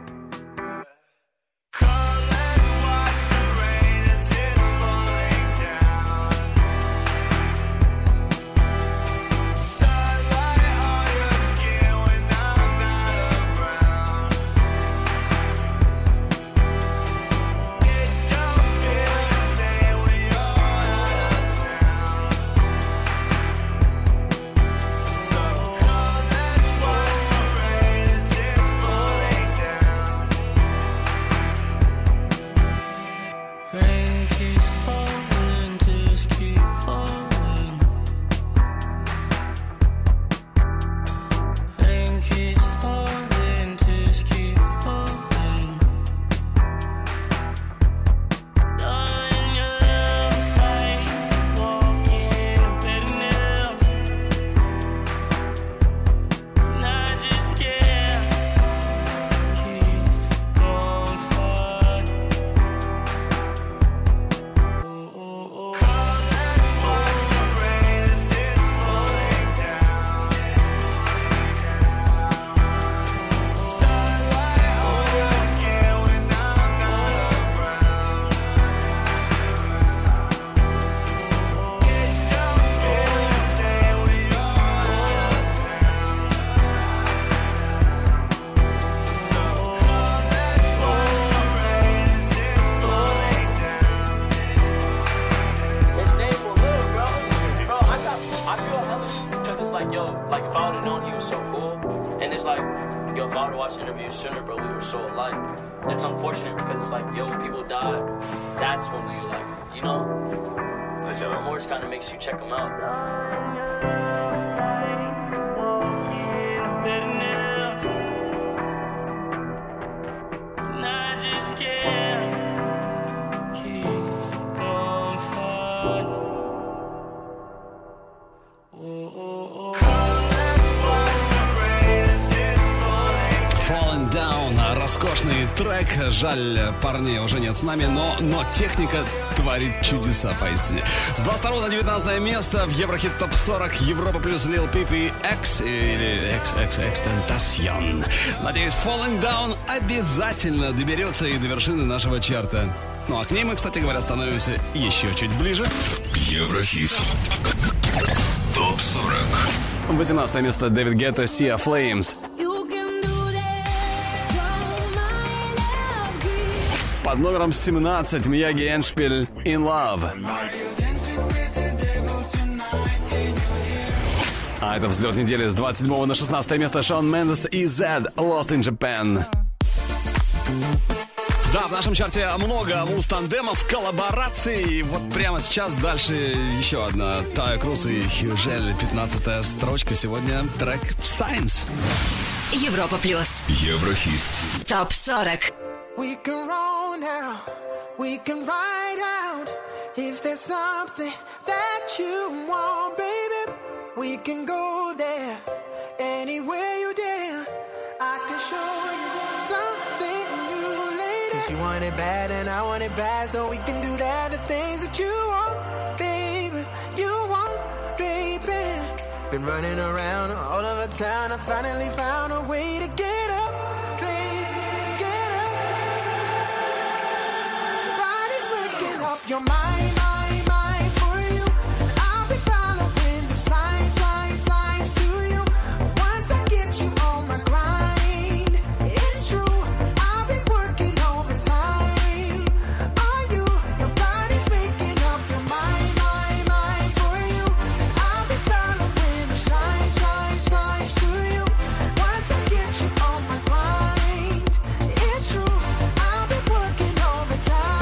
like, if I would have known he was so cool, and it's like, yo, if I would have watched the interview sooner, bro, we were so alike. It's unfortunate because it's like, yo, when people die, that's when we like, you know? Because your remorse kind of makes you check them out. And I just can't keep on fighting. Falling Down. Роскошный трек. Жаль, парней уже нет с нами, но техника творит чудеса поистине. С 22 на 19 место в Еврохит ТОП 40 Европа плюс Lil Peep и X или XXXTentacion. Надеюсь, Falling Down обязательно доберется и до вершины нашего чарта. Ну а к ней мы, кстати говоря, становимся еще чуть ближе. Еврохит ТОП 40. 18 место Дэвид Гетта, Sia Flames. Под номером 17 Мияги Эндшпиль In Love. А это взлет недели с 27 на 16 место Шон Мендес и Zed Lost in Japan. Да, в нашем чарте много муз-тандемов, коллабораций. И вот прямо сейчас дальше еще одна. Тая Круз и Хьюжель, 15-я строчка. Сегодня трек Science. Европа плюс. Еврохит. ТОП 40. We can roll now, we can ride out. If there's something that you want, baby, we can go there. Anywhere you dare, I can show you something new, lady. 'Cause you want it bad and I want it bad, so we can do that. The things that you want, baby, you want, baby. Been running around all over town, I finally found a way to get up, baby. Your mind, mind for you. I'll be following the signs to you. Once I get you on my grind, it's true. I'll be working overtime on you. Your body's making up your mind for you. I'll be following the signs to you. Once I get you on my grind, it's true. I'll be working overtime.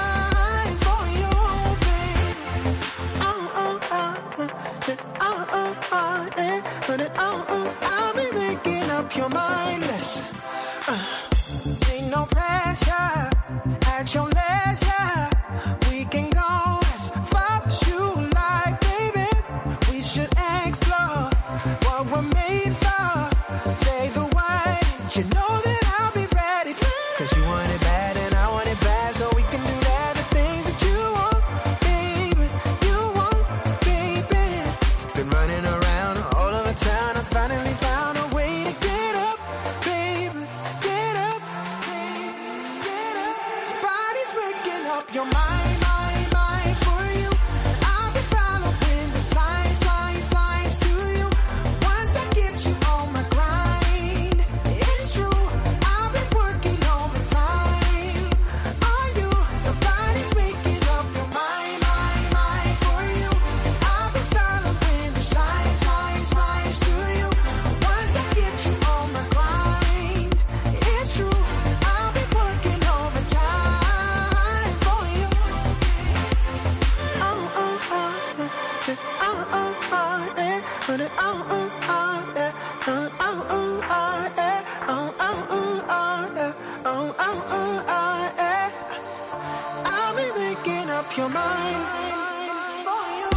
I'll be making up your mind. Listen, ain't no pressure at your leisure. We can go as far as you like, baby. We should explore what we're made for. Say the word, you know that I'll be ready. 'Cause you want it bad and I want it bad, so we can do that. The things that you want, baby, you want, baby. Been running around all over town, I finally found a way to get up, baby. Get up, baby, get up. Body's waking up your mind for you. I'll be following the signs to you. Once I get you on my grind, it's true. I'll be working overtime on you. Your body's waking up your mind for you. I'll be following the signs to you. Once I get you on my grind, it's true. I'll be working overtime for you. I'll be making up your mind for you.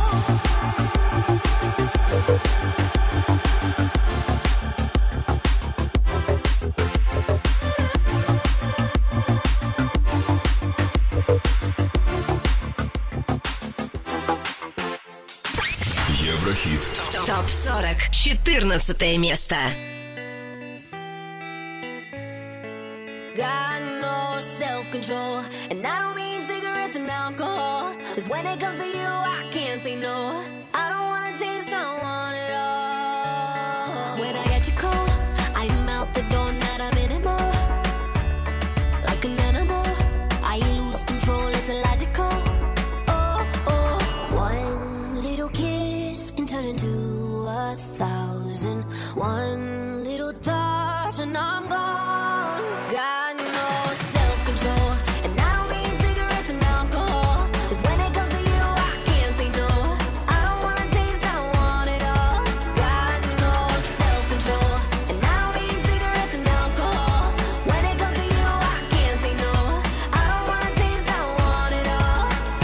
Еврохит. ТОП 40. 14 место. Got no self-control, and I don't mean cigarettes and alcohol. 'Cause when it comes to you, I can't say no. I don't wanna taste, I want it all. When I get you cold, I'm out the door, not a minute more. Like an animal, I lose control, it's illogical. Oh, one little kiss can turn into 1,000 One little touch and I'm gone. Got no self-control, and I don't mean cigarettes and alcohol. 'Cause when it comes to you, I can't say no. I don't wanna taste, I want it all. Got no self-control, and I don't mean cigarettes and alcohol. When it comes to you, I can't say no. I don't wanna taste, I want it all.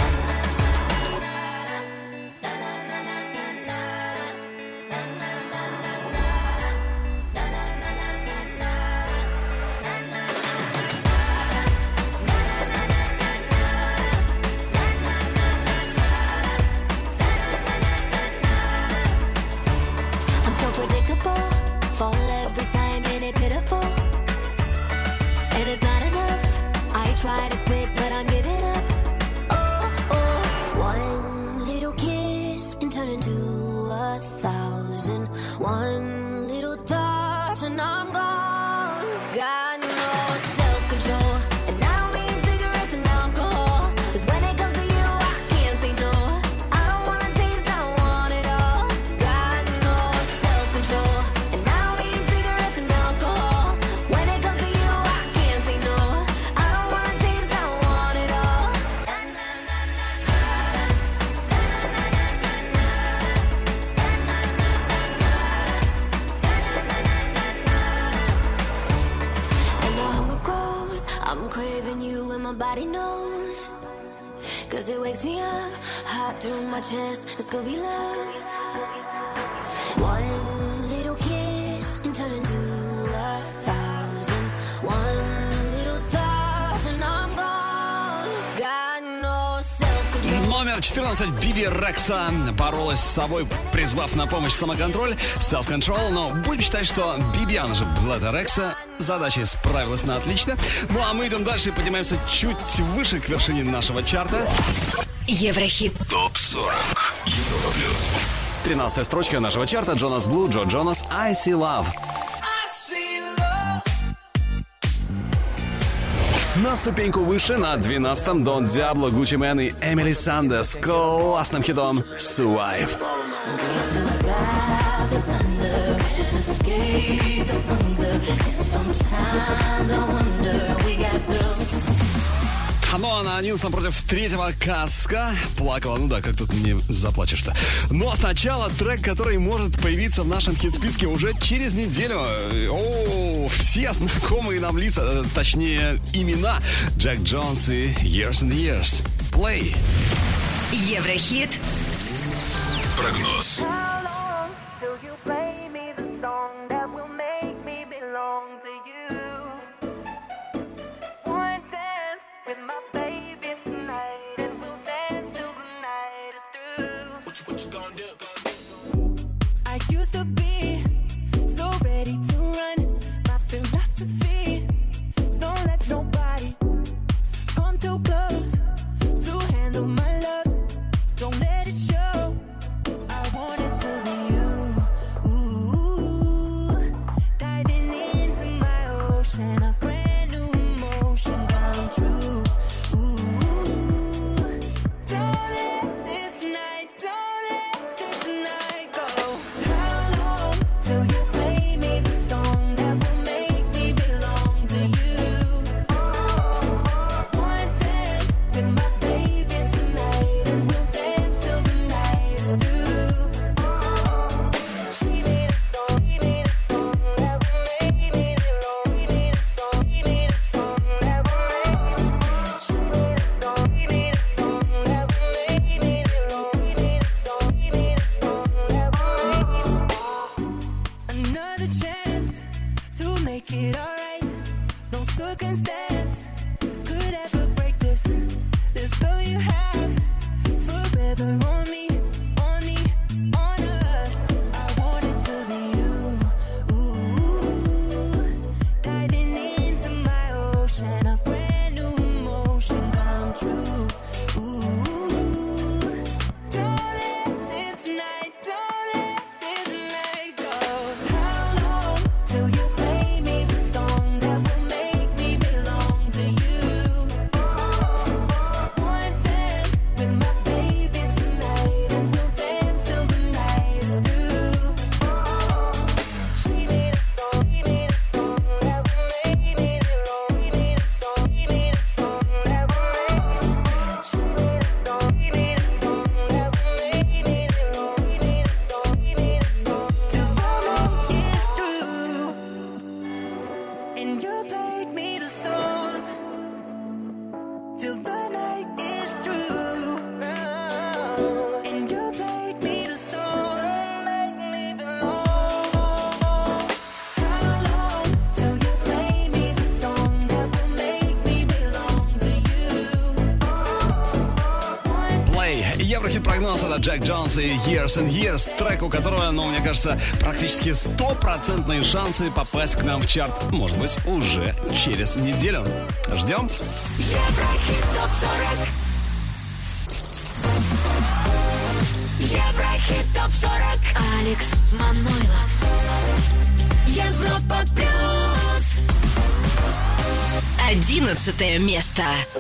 I'm so predictable, fall every time and it's pitiful. And it's not enough, I try to quit but I'm giving up. Oh, oh, one little kiss can turn into 1,000. One little touch and I'm gone. Got no self-control, and I don't mean cigarettes and alcohol. 'Cause when it comes to you, I can't say no. I don't wanna taste, I want it all. Got no self-control, and I don't mean cigarettes and alcohol. When it comes to you, I can't say no. I don't wanna taste, I want it all. And the hunger grows, I'm craving you and my body knows. 'Cause it wakes me up, hot through my chest, it's gonna be love. One little kiss can turn into 1,000. One little touch and I'm gone. Got no self-control. Номер 14. Биби Рекса боролась с собой, призвав на помощь самоконтроль, self-control. Но будем считать, что Биби, она же Блэда Рекса, задачей справилась на отлично. Ну а мы идем дальше и поднимаемся чуть выше к вершине нашего чарта. Еврохит. ТОП-40. Европа плюс. 13-я строчка нашего чарта. Джонас Блу, Джо Джонас, I See Love. На ступеньку выше, на 12-м, Дон Диабло, Гуччи Мэн и Эмили Сандер с классным хитом «Survive». Ну а на 11-м против 3-го Каска плакала. Ну да, как тут не заплачешь-то. Ну а сначала трек, который может появиться в нашем хит-списке уже через неделю. О, все знакомые нам лица, точнее имена. Джек Джонс и Years and Years. Play. Еврохит. Прогноз. I used to be so ready to run. My philosophy, don't let nobody come too close to handle my love. Don't let it show. I want it to be you. Ooh, diving into my ocean, a brand new emotion come true. Ooh, don't let this night go. How long till you play me the song that will make me belong to you? One dance with my baby tonight, and we'll dance till the night is through. She made a song, he made a song that will make me belong. He made a song, he made a song that will make me. She made a song, he made a song that will make me belong. He made a song, he made a song that will make me. Another chance to make it alright. No circumstance could ever break this. This girl you have forever on me, on us. I want it to be you. Ooh, diving into my ocean, a brand new emotion come true. Ooh, don't let this night go. How long till you play me the song that will make me belong to you? One dance with my baby tonight, прогноз. Это Джек Джонс и Years and Years. Трек, у которого, мне кажется, практически 100% шансы попасть к нам в чарт. Может быть, уже через неделю. Ждем. Еврохит ТОП-40. Еврохит ТОП-40. Алекс Манойлов. Европа плюс. 11 место.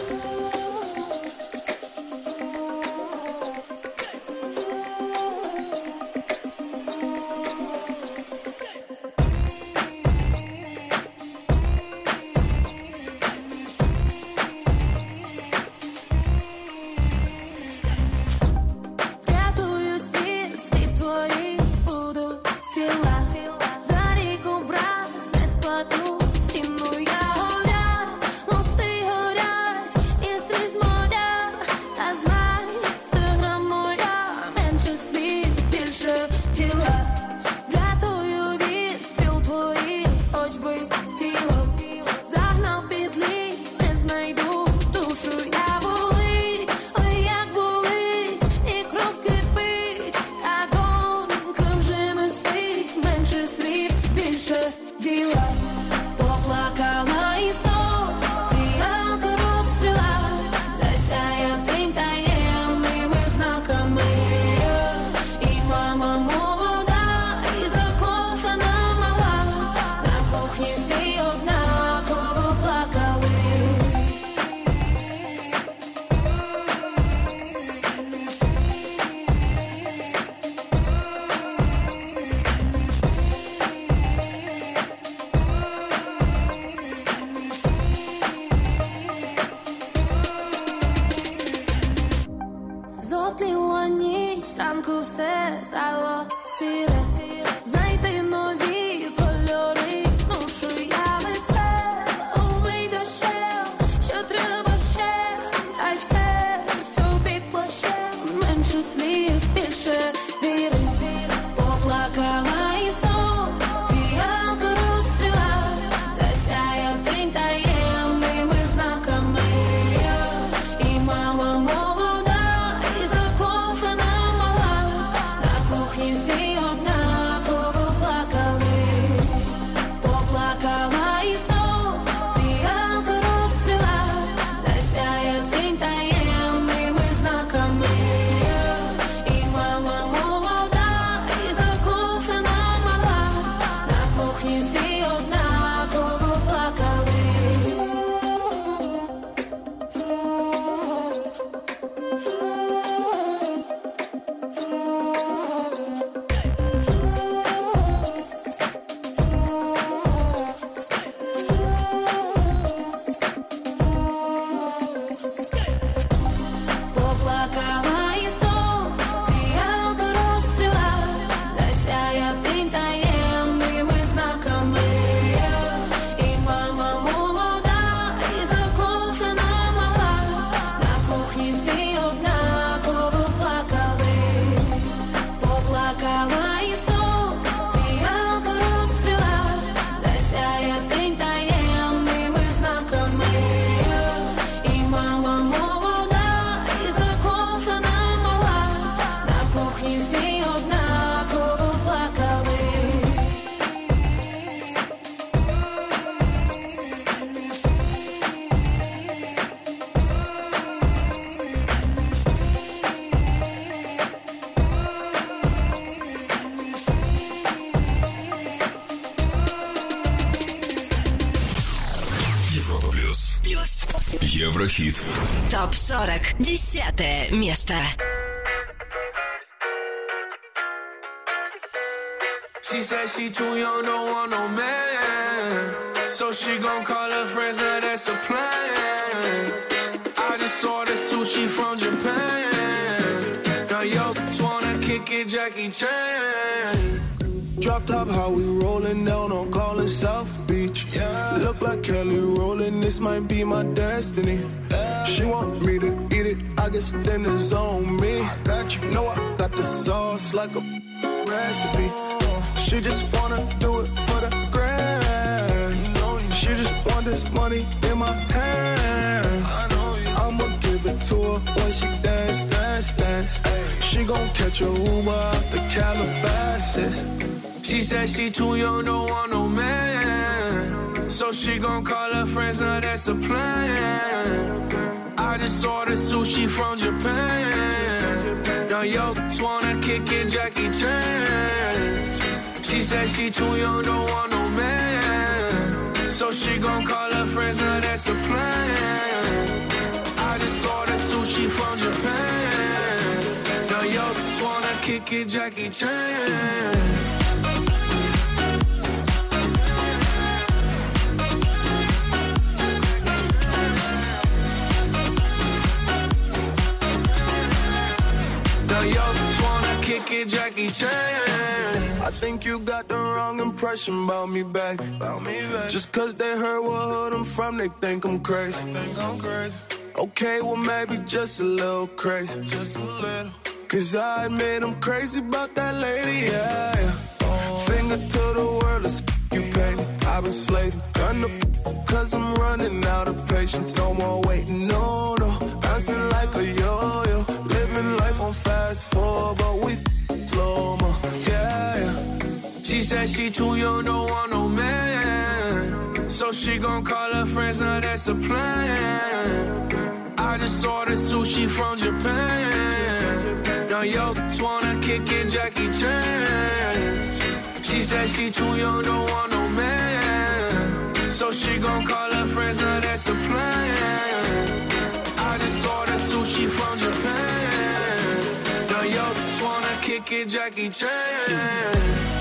Еврохит. ТОП-40. 10 место. She said she too young, don't want no man. So she gon' call her friends, now that's a plan. I just ordered sushi from Japan. Now yo, just wanna kick it, Jackie Chan. Drop top, how we rollin' down on Collins South Beach. Yeah. Look like Kelly rollin', this might be my destiny. Yeah. She want me to eat it, I guess then it's on me. I got you, know I got the sauce like a recipe. She just wanna do it for the grand. She just want this money in my hand. I'ma give it to her when she dance, dance, dance. She gon' catch a Uber out the Calabasas. She said she too young, don't want no man. So she gon' call her friends, now that's a plan. I just ordered sushi from Japan. Now yo, just wanna kick it, Jackie Chan. She said she too young, don't want no man. So she gon' call her friends, now that's a plan. I just ordered sushi from Japan. Now yo, just wanna kick it, Jackie Chan. Yo, just wanna kick it, Jackie Chan. I think you got the wrong impression about me back. Just cause they heard what hood I'm from, they think I'm crazy. Okay, well maybe just a little crazy. Cause I admit I'm crazy about that lady, yeah. Finger to the world, let's you pay. I've been slaving, done the cause I'm running out of patience. No more waiting, no, no. Bouncing like a yo-yo. Living life on fast forward, but we slow-mo, yeah, yeah. She said she too young, don't want no man. So she gon' call her friends, now that's a plan. I just ordered sushi from Japan. Now yo, just wanna kick it, Jackie Chan. She said she too young, don't want no man. So she gon' call her friends, now that's a plan. I just ordered sushi from Japan. Now yo, just wanna kick it, Jackie Chan.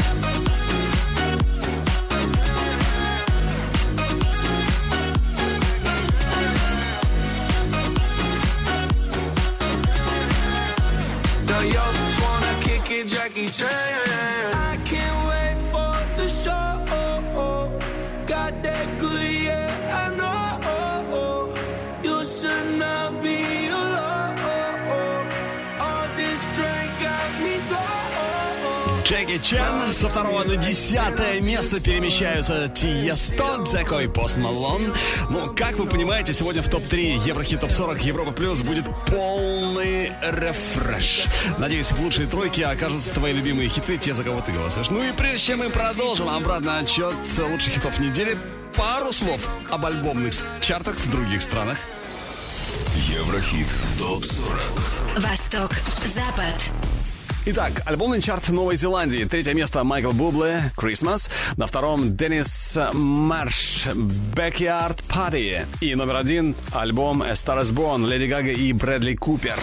Yo, just wanna kick it, Jackie Chan. I can't wait for the show. Got that good, yeah, I know. You should not be alone. All this drink got me going. Джеки Чан со 2 на 10 место перемещаются Тиесто, Дзеко и Пост Малон. Ну, как вы понимаете, сегодня в топ-3 Еврохит ТОП-40 Европа Плюс будет полный рефреш. Надеюсь, в лучшей тройке окажутся твои любимые хиты, те, за кого ты голосуешь. Ну и прежде чем мы продолжим обратный отчет лучших хитов недели, пару слов об альбомных чартах в других странах. Еврохит ТОП-40. Восток, Запад. Итак, альбомный чарт Новой Зеландии. 3 место Майкл Бубле, Christmas. На 2 Деннис Марш, Backyard Party. И номер 1 альбом A Star Is Born, Леди Гага и Брэдли Купер.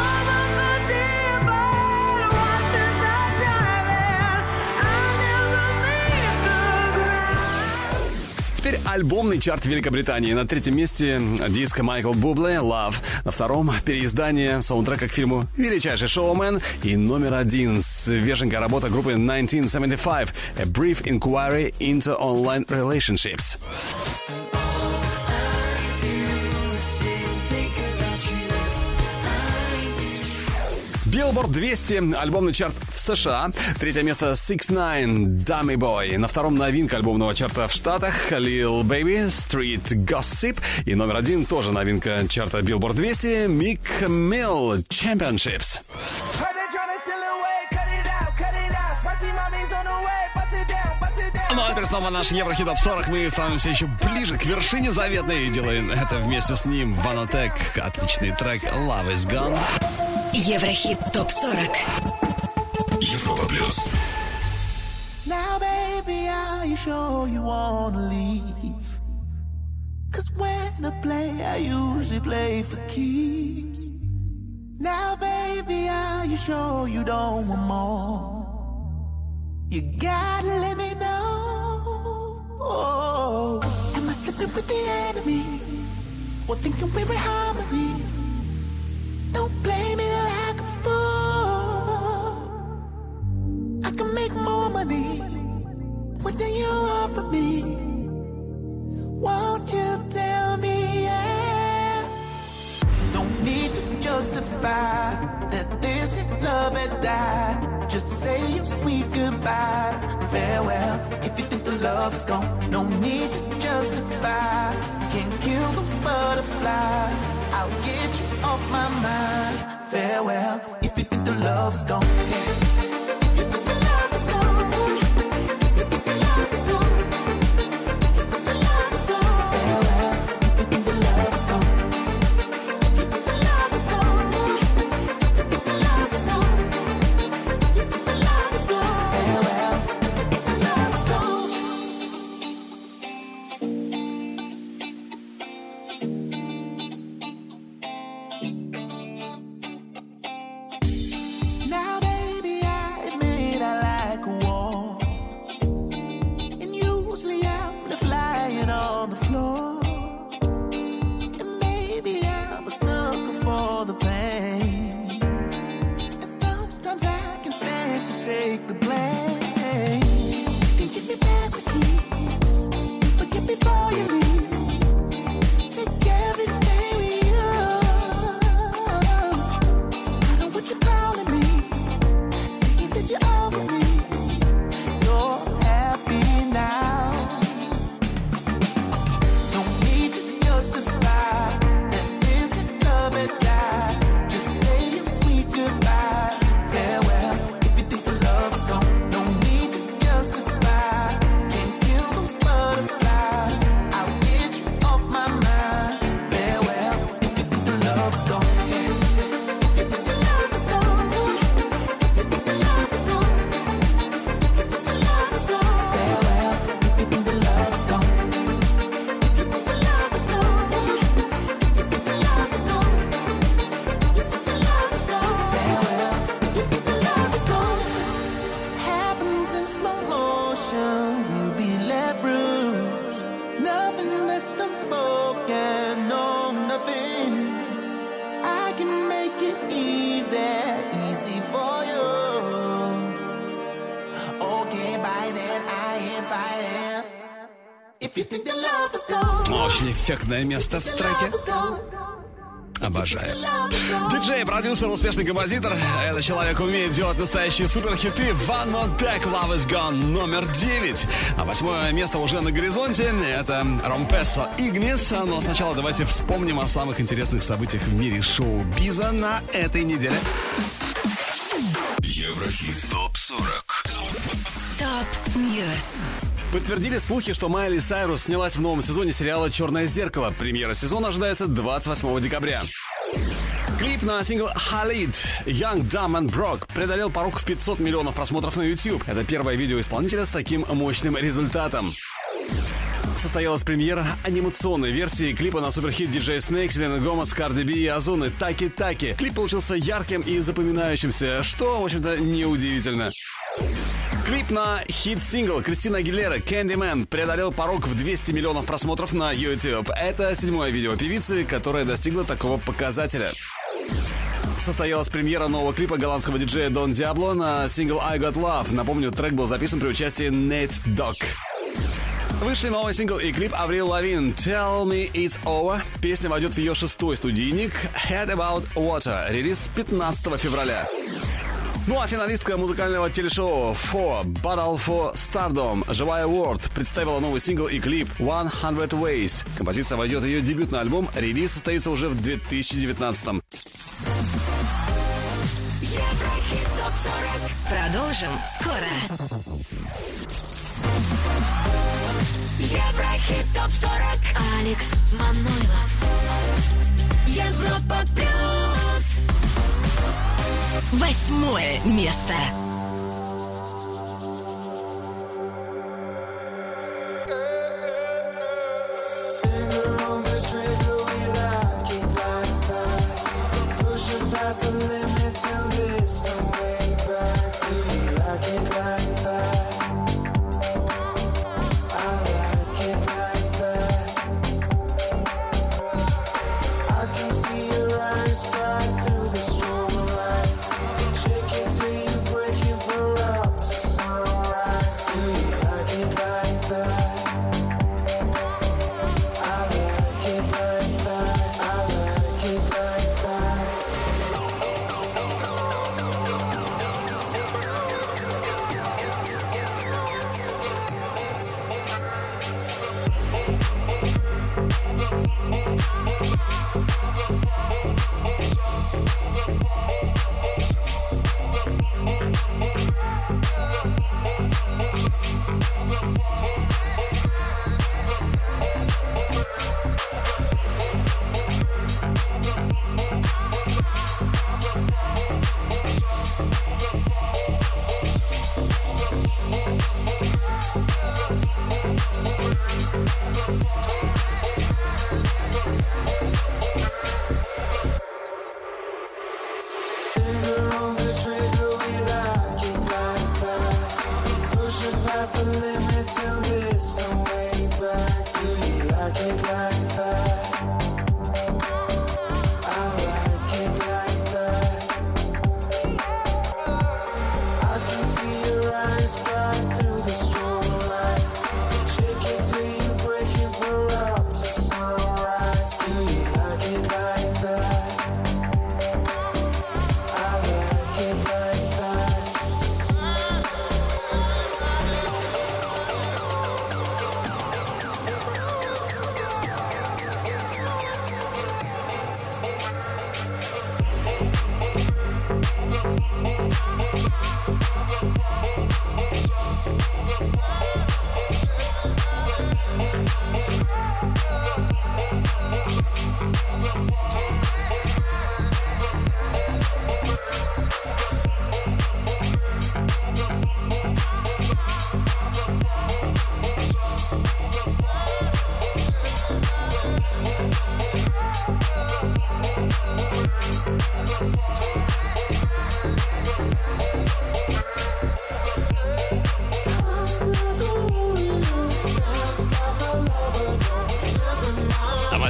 Теперь альбомный чарт Великобритании. На 3 месте диск Майкл Бубле «Love». На 2 переиздание саундтрека к фильму «Величайший шоумен». И номер 1 свеженькая работа группы 1975 «A Brief Inquiry into Online Relationships». Billboard 200, альбомный чарт в США. 3 место 6ix9ine, Dummy Boy. На 2 новинка альбомного чарта в Штатах Lil Baby, Street Gossip. И номер 1 тоже новинка чарта Billboard 200, Meek Mill, Championships. Ну а теперь снова наш Еврохит ТОП-40. Мы становимся еще ближе к вершине заветной и делаем это вместе с ним. Vanatech, отличный трек Love Is Gone. Еврохит ТОП-40. Европа Плюс. Now, baby, are you sure you wanna leave? Cause when I play, I usually play for keeps. Now, baby, are you sure you don't want more? You gotta let me know. Oh, am I slipping with the enemy? Or thinking we're in harmony? Don't play me like a fool. I can make more money. What do you offer me? Won't you tell me, yeah? Don't need to justify that this love had died. Just say your sweet goodbyes. Farewell, if you think the love's gone. No need to justify. Can't kill those butterflies. I'll get you off my mind. Farewell, if if you think the love's gone. If you think the love is gone. If you think the love is gone. If you think the love is gone. Farewell, if you think the love's gone. If you think the love is gone. If you think the love is gone. If you think the love is gone. Farewell, if you think the love's gone. Now, baby, I admit I like a war. And usually I'm left lying on the floor. And maybe I'm a sucker for the pain. And sometimes I can stand to take the blame. Then give me back my keys. Forgive me for you leave. Take everything we own. I know what you're calling me. Saying that you're over me. You're happy now. No need to justify that this love had died. Just say your sweet goodbyes. Farewell, if you think the love's gone. No need to justify. Can't kill those butterflies. I'll get you off my mind. Farewell, if you think the love's gone. If you think the love is gone. If you think the love is gone. If you think the love is gone. Farewell, if you think the love's gone. If you think the love is gone. If you think the love is gone. If you think the love is gone. Farewell, if you think the love is gone. Happens in slow motion. We'll be left bruised. Nothing left unspoken. No, nothing. I can make it easy for you. Okay, by then I ain't fighting. If you think the love is gone. Очень эффектное место в треке. Обожаю. Диджей, продюсер, успешный композитор. Этот человек умеет делать настоящие суперхиты. One More Take, Love Is Gone, номер 9. А 8 место уже на горизонте. Это Ромпессо Игнис. Но сначала давайте вспомним о самых интересных событиях в мире шоу-биза на этой неделе. Еврохит ТОП-40. Топ Ньюс. Подтвердили слухи, что Майли Сайрус снялась в новом сезоне сериала «Черное зеркало». Премьера сезона ожидается 28 декабря. Клип на сингл «Халид» Young, Dumb and Broke преодолел порог в 500 миллионов просмотров на YouTube. Это первое видео исполнителя с таким мощным результатом. Состоялась премьера анимационной версии клипа на суперхит DJ Snake, Селена Гомес, Cardi B и Озуны «Таки-таки». Клип получился ярким и запоминающимся, что, в общем-то, неудивительно. Клип на хит-сингл Кристина Агилера «Candyman» преодолел порог в 200 миллионов просмотров на YouTube. Это 7-е видео певицы, которое достигло такого показателя. Состоялась премьера нового клипа голландского диджея Don Diablo на сингл «I Got Love». Напомню, трек был записан при участии Nate Dogg. Вышли новый сингл и клип Аврил Лавин «Tell Me It's Over». Песня войдет в ее 6-й студийник «Head About Water». Релиз 15 февраля. Ну а финалистка музыкального телешоу «For Battle for Stardom» Живая Уорд представила новый сингл и клип «100 Ways». Композиция войдет в ее дебютный альбом. Релиз состоится уже в 2019-м. Продолжим скоро. Еврохит ТОП-40. Алекс Манойлов. Европа плюс. 8 место. Break it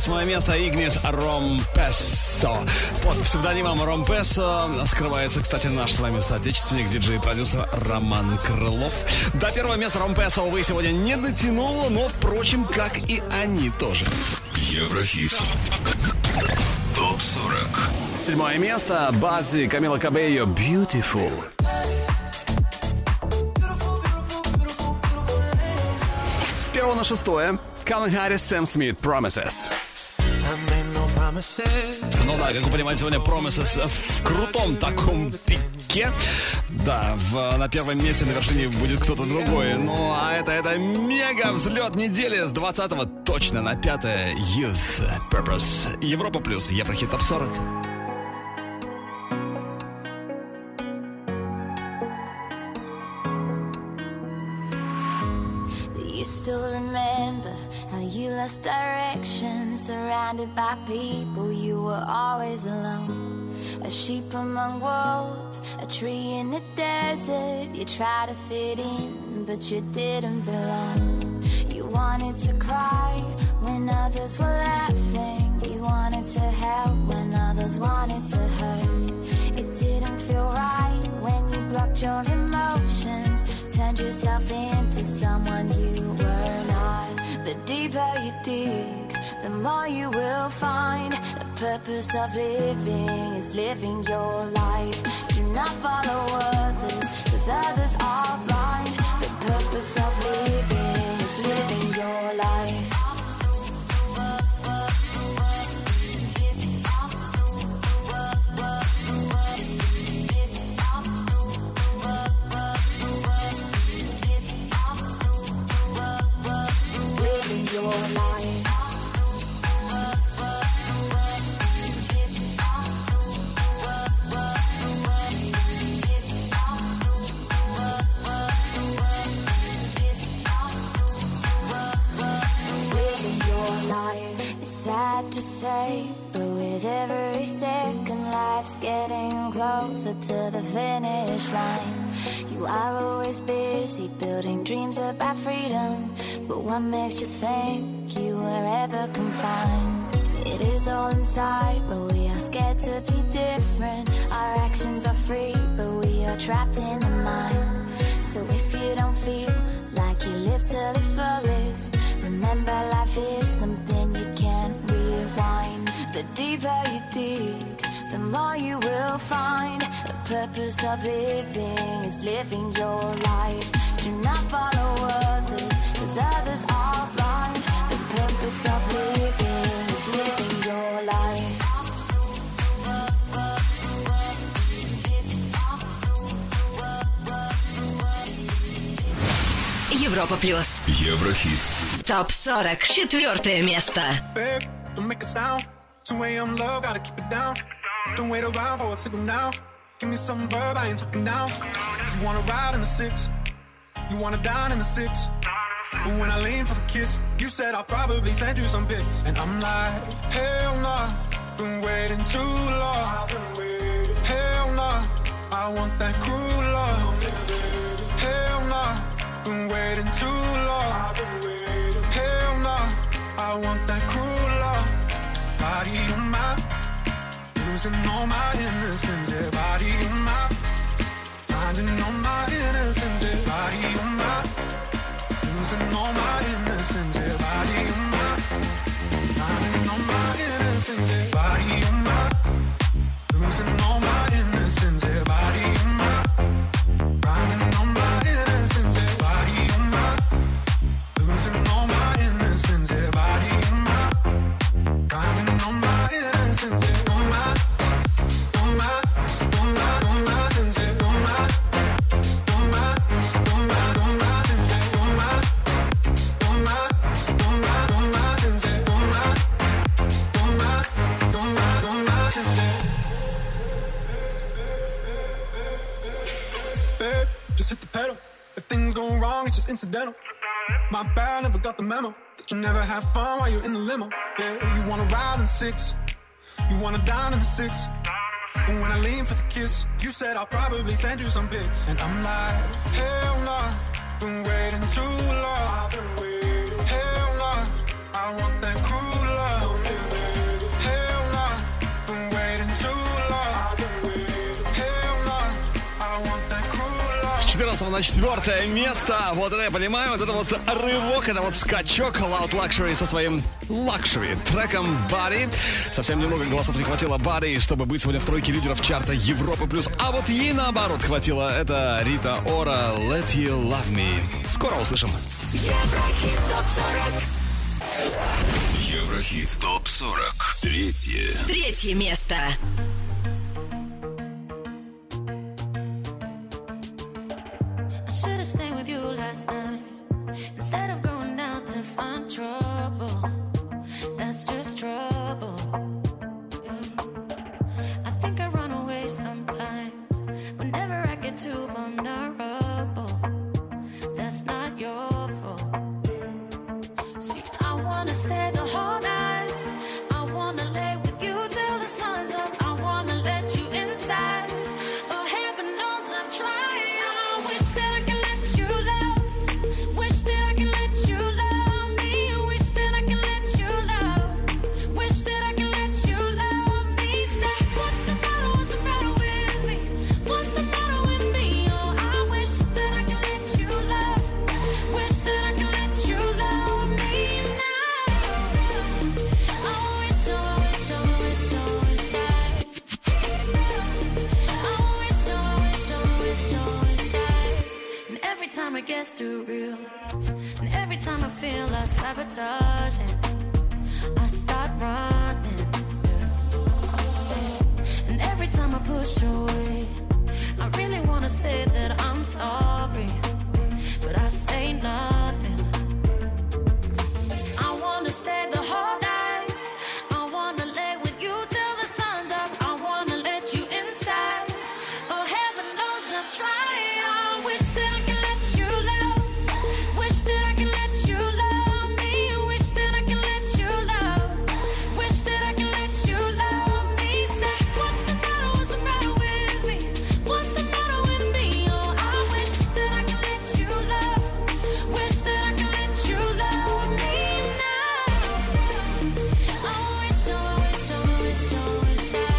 8 место Игнис Ромпессо. Под псевдонимом Ромпессо скрывается, кстати, наш с вами соотечественник, диджей-продюсер Роман Крылов. До 1 места Ромпессо, увы, сегодня не дотянуло, но, впрочем, как и они тоже. Еврохит. ТОП-40. 7 место Баззи, Камила Кабейо, Beautiful. С 1 на 6 Калвин Харрис, Сэм Смит, Promises. Ну да, как вы понимаете, сегодня Promises в крутом таком пике. Да, на первом месте на вершине будет кто-то другой. Ну, а это мега взлет недели с 20-го точно на 5-е Youth Purpose. Европа плюс Еврохит Топ 40. You still remember how you lost direction, surrounded by people, you were always alone. A sheep among wolves, a tree in the desert. You tried to fit in, but you didn't belong. You wanted to cry when others were laughing. You wanted to help when others wanted to hurt. It didn't feel right when you blocked your emotions, turned yourself into someone you were not. The deeper you dig, the more you will find. The purpose of living is living your life. Do not follow others, 'cause others are blind. The purpose of living is living your life. Living your life. It's sad to say, but with every second life's getting closer to the finish line. You are always busy building dreams about freedom, but what makes you think you were ever confined? It is all inside, but we are scared to be different. Our actions are free, but we are trapped in the mind. So if you don't feel like you live to the fullest, remember life is something you can't rewind. The deeper you dig, the more you will find. The purpose of living is living your life. Do not follow others, 'cause others are blind. The purpose of living is living your life. Европа плюс. Еврохит. Топ 40. 4 место. Babe, don't make a sound. 2 a.m. love, gotta keep it down. Don't wait around for a signal now. Give me some verb, I ain't talking now. You wanna ride in the 6, you wanna dine in the 6. But when I lean for the kiss, you said I'll probably send you some pics. And I'm like, hell nah, been waiting too long. Hell nah, I want that cruel love. Hell nah, been waiting too long. Hell nah, I want that cruel love. Body on my, losing all my innocence. Yeah, body on my, finding all my innocence. Yeah, body on my, losing all my innocence. Yeah, body on my, finding all my innocence. Yeah, body on my, losing all my innocence. Yeah, body on my, finding all my innocence. Yeah, body on my, losing all my innocence. Yeah, body on my, finding all my innocence. Yeah, on my, on my, on my, on my sense. Yeah, on my, on my, on my, on my sense. Yeah, on my, on my, on my, on my sense. Yeah, on my, on my, on my, on my sense. Yeah. Babe, just hit the pedal. If things go wrong, it's just incidental. My bad, never got the memo that you never have fun while you're in the limo. Yeah, you wanna ride in the 6, you wanna dine in the 6. But when I lean for the kiss, you said I'll probably send you some pics. And I'm like, hell nah, been waiting too long. Hell nah, I want that cruel love. 14 на 4 место. Вот это я понимаю, вот это вот рывок, это вот скачок. Loud Luxury со своим Luxury треком Body. Совсем немного голосов не хватило Body, чтобы быть сегодня в тройке лидеров чарта Европы+. А вот ей наоборот хватило. Это Рита Ора, Let You Love Me. Скоро услышим. Еврохит ТОП-40. Еврохит ТОП-40. Третье место. I should've stayed with you last night instead of going out to find trouble. That's just trouble. Yeah. I think I run away sometimes whenever I get too vulnerable. That's not your fault. See, I wanna stay the whole night. I wanna lay with you till the sun's up. I wanna let you inside. Oh, heaven knows I've tried. Wish that I can let you love. Wish that I can let you love me. Wish that I can let you love. Wish that I can let you love me. Say, what's the matter? What's the matter with me? What's the matter with me? Oh, I wish that I can let you love. Wish that I can let you love me now. I wish, I wish, I wish, I wish I. I wish, I wish, I wish, I wish I. And every time it gets too real, and every time I feel like sabotaging, I start running. Yeah. And every time I push away, I really wanna say that I'm sorry, but I say nothing. I wanna stay the whole night. I wanna lay with you till the sun's up. I wanna let you inside. Oh, heaven knows I've tried. I wish that I can let you love. Wish that I can let you love me. Wish that I can let you love. Wish that I can let you love me. Say, what's the matter? What's the matter with me? What's the matter with me? Oh, I wish that I can let you love. Wish that I can let you love me now. I wish, I wish, I wish, I wish I.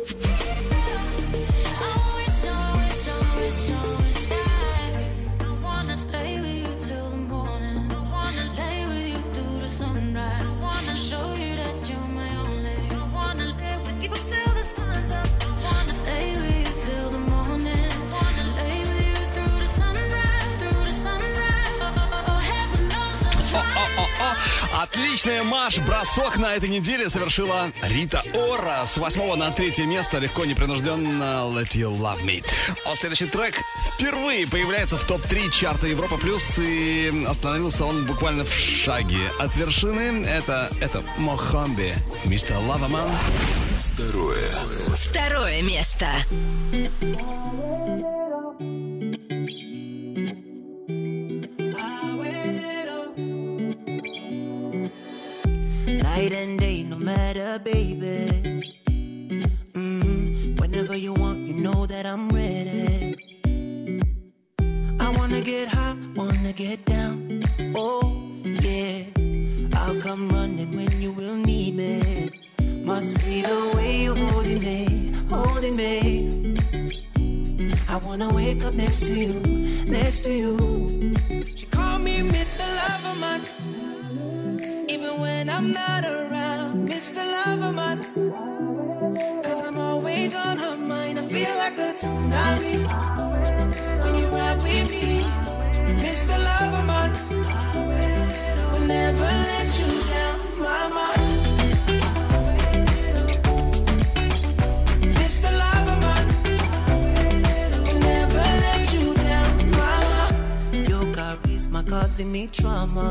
I wish, I wish, I wish, I wish I. I wanna stay with you till the morning. I wanna lay with you through the sunrise. I wanna show you that you're my only. I wanna lay with you till the sun's up. I wanna stay with you till the morning. I wanna lay with you through the sunrise, through the sunrise. Oh, heaven knows I'm trying. Отличный марш-бросок на этой неделе совершила Рита Ора. С 8 на 3 место легко, непринужденно Let You Love Me. А следующий трек впервые появляется в топ-3 чарта Европа+, и остановился он буквально в шаге от вершины. Это Мохамби, Мистер Лаваман. Второе место. Night and day, no matter, baby. Whenever you want, you know that I'm ready. I wanna get high, wanna get down. Oh, yeah. I'll come running when you will need me. Must be the way you're holding me, holding me. I wanna wake up next to you, next to you. She called me Mr. Loverman, even when I'm not around, Mr. Loverman. Cause I'm always on her mind. I feel like a tsunami when you ride with me, Mr. Loverman. Will never let you down, mama. Mr. Loverman, will never let you down, mama. Your charisma causing me trauma.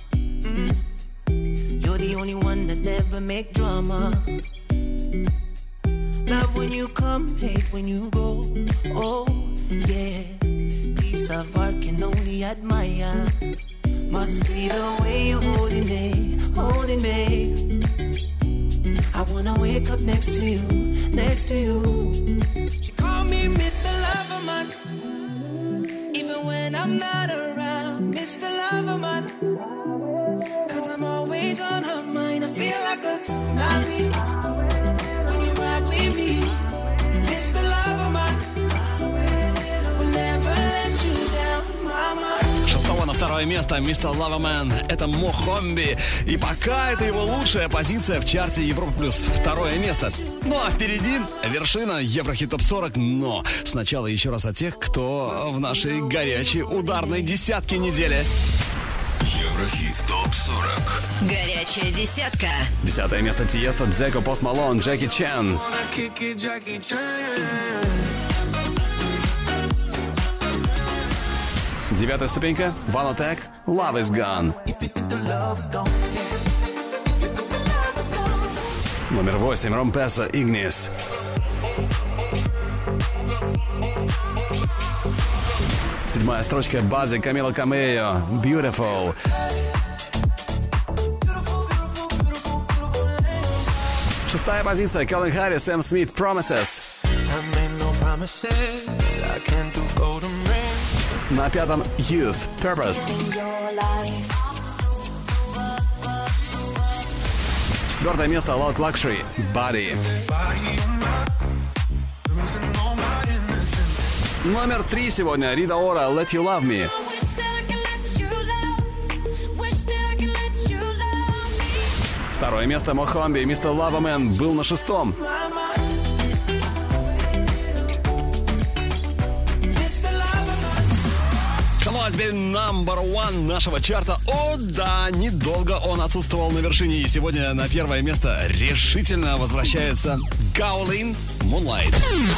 You're the only one that never make drama. Love when you come, hate when you go. Oh, yeah. Piece of art can only admire. Must be the way you're holding me, holding me. I wanna wake up next to you, next to you. She called me Mr. Loverman, even when I'm not around, Mr. Loverman. Cause I'm always on her mind. I feel like a tsunami when you ride with me, Mr. Loverman. Will never let you второе место Mr. Loverman. Это Мохомби. И пока это его лучшая позиция в чарте Европа плюс. Второе место. Ну а впереди вершина Еврохит Топ 40. Но сначала еще раз о тех, кто в нашей горячей ударной десятке недели. Еврохит Топ 40. Горячая десятка. 10 место Тиесто, Дзеко, Пост Малон, Джеки Чан. 9 ступенька One Attack, Love Is Gone. Номер 8 Ромпеса, Ignis. Седьмая строчка Базы, Камила Камео, Beautiful. Шестая позиция Кэлвин Харрис, Сэм Смит, Promises. На пятом Youth, Purpose. Четвертое место Loud Luxury, Body. Номер 3 сегодня Рита Ора, Let You Love Me. Второе место Мохомби, Mr. Loverman был на шестом. Теперь номер 1 нашего чарта. О, да, недолго он отсутствовал на вершине. И сегодня на первое место решительно возвращается Гаолин, Moonlight.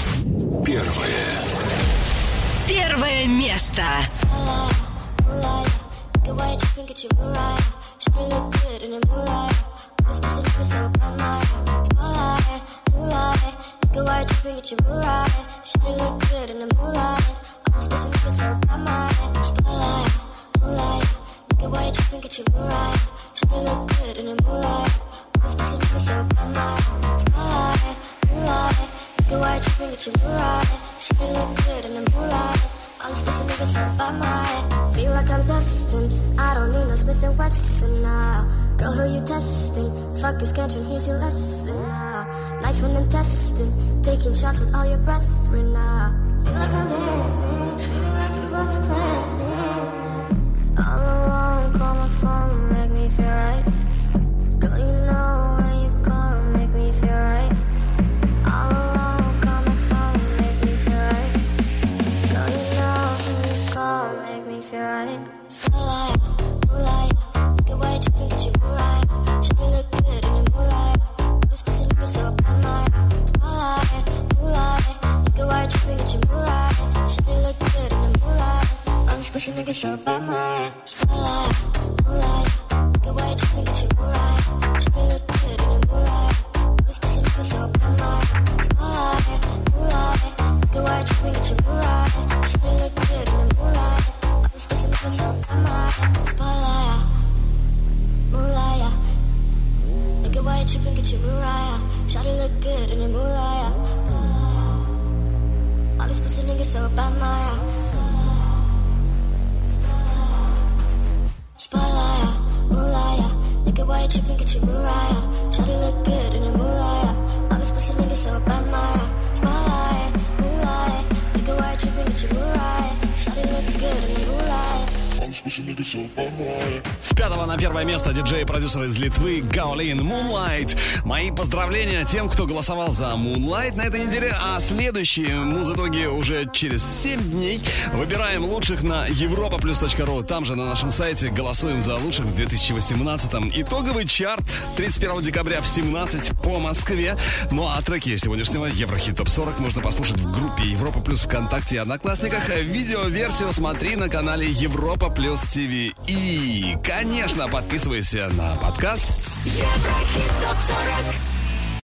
Первое место. Spacing niggas so by my moonlight. Nigga, why you tripping? Get you right. Should look good in the moonlight. Spacing niggas so by my moonlight. Nigga, why you tripping? Get you right. Should look good in the moonlight. All these spacing niggas so by my. Feel like I'm destined. I don't need no Smith & Wesson now. Girl, who you testing? Fuck your schedule, here's your lesson now. Knife and intestine. Taking shots with all your brethren now. Feel like I'm dead. Feeling like you wanna play me. All alone, call my phone, make me feel right. Girl, you know when you call, make me feel right. All alone, call my phone, make me feel right. Girl, you know when you call, make me feel right. Spotlight, moonlight, get why you tripping, get you right. Should look good in the moonlight. All this pussy niggas so bad, my spotlight, moonlight, get why you tripping, get you right. Should look good in the moonlight. All these pussy niggas so bad, my spotlight, moonlight, get why you tripping, get you right. Should look good in the moonlight. All these pussy niggas so bad, my spotlight, moonlight, get why you tripping, get you right. Should look good in the moonlight. All these pussy niggas so bad, my spotlight, moonlight. Nigga, why you tripping, get you right. Should look good in the moonlight. All these pussy niggas so bad, my spotlight, moonlight. Nigga, why you tripping, get you right. Shawty look good in the moonlight. All these pussy niggas so bad, my spotlight, moonlight. Nigga, why you tripping, get you right. Shawty look good in the moonlight. All these pussy niggas so bad, my. С 5 на первое место диджей и продюсер из Литвы Гаолин, Moonlight. Мои поздравления тем, кто голосовал за Moonlight на этой неделе, а следующие муз-итоги уже через 7 дней. Выбираем лучших на europaplus.ru. Там же на нашем сайте голосуем за лучших в 2018-м. Итоговый чарт 31 декабря в 17 по Москве. Ну а треки сегодняшнего Еврохит Топ 40 можно послушать в группе Европа Плюс ВКонтакте и Одноклассниках. Видеоверсию смотри на канале Европа Плюс ТВ. И, конечно, подписывайся на подкаст Еврохит Топ 40.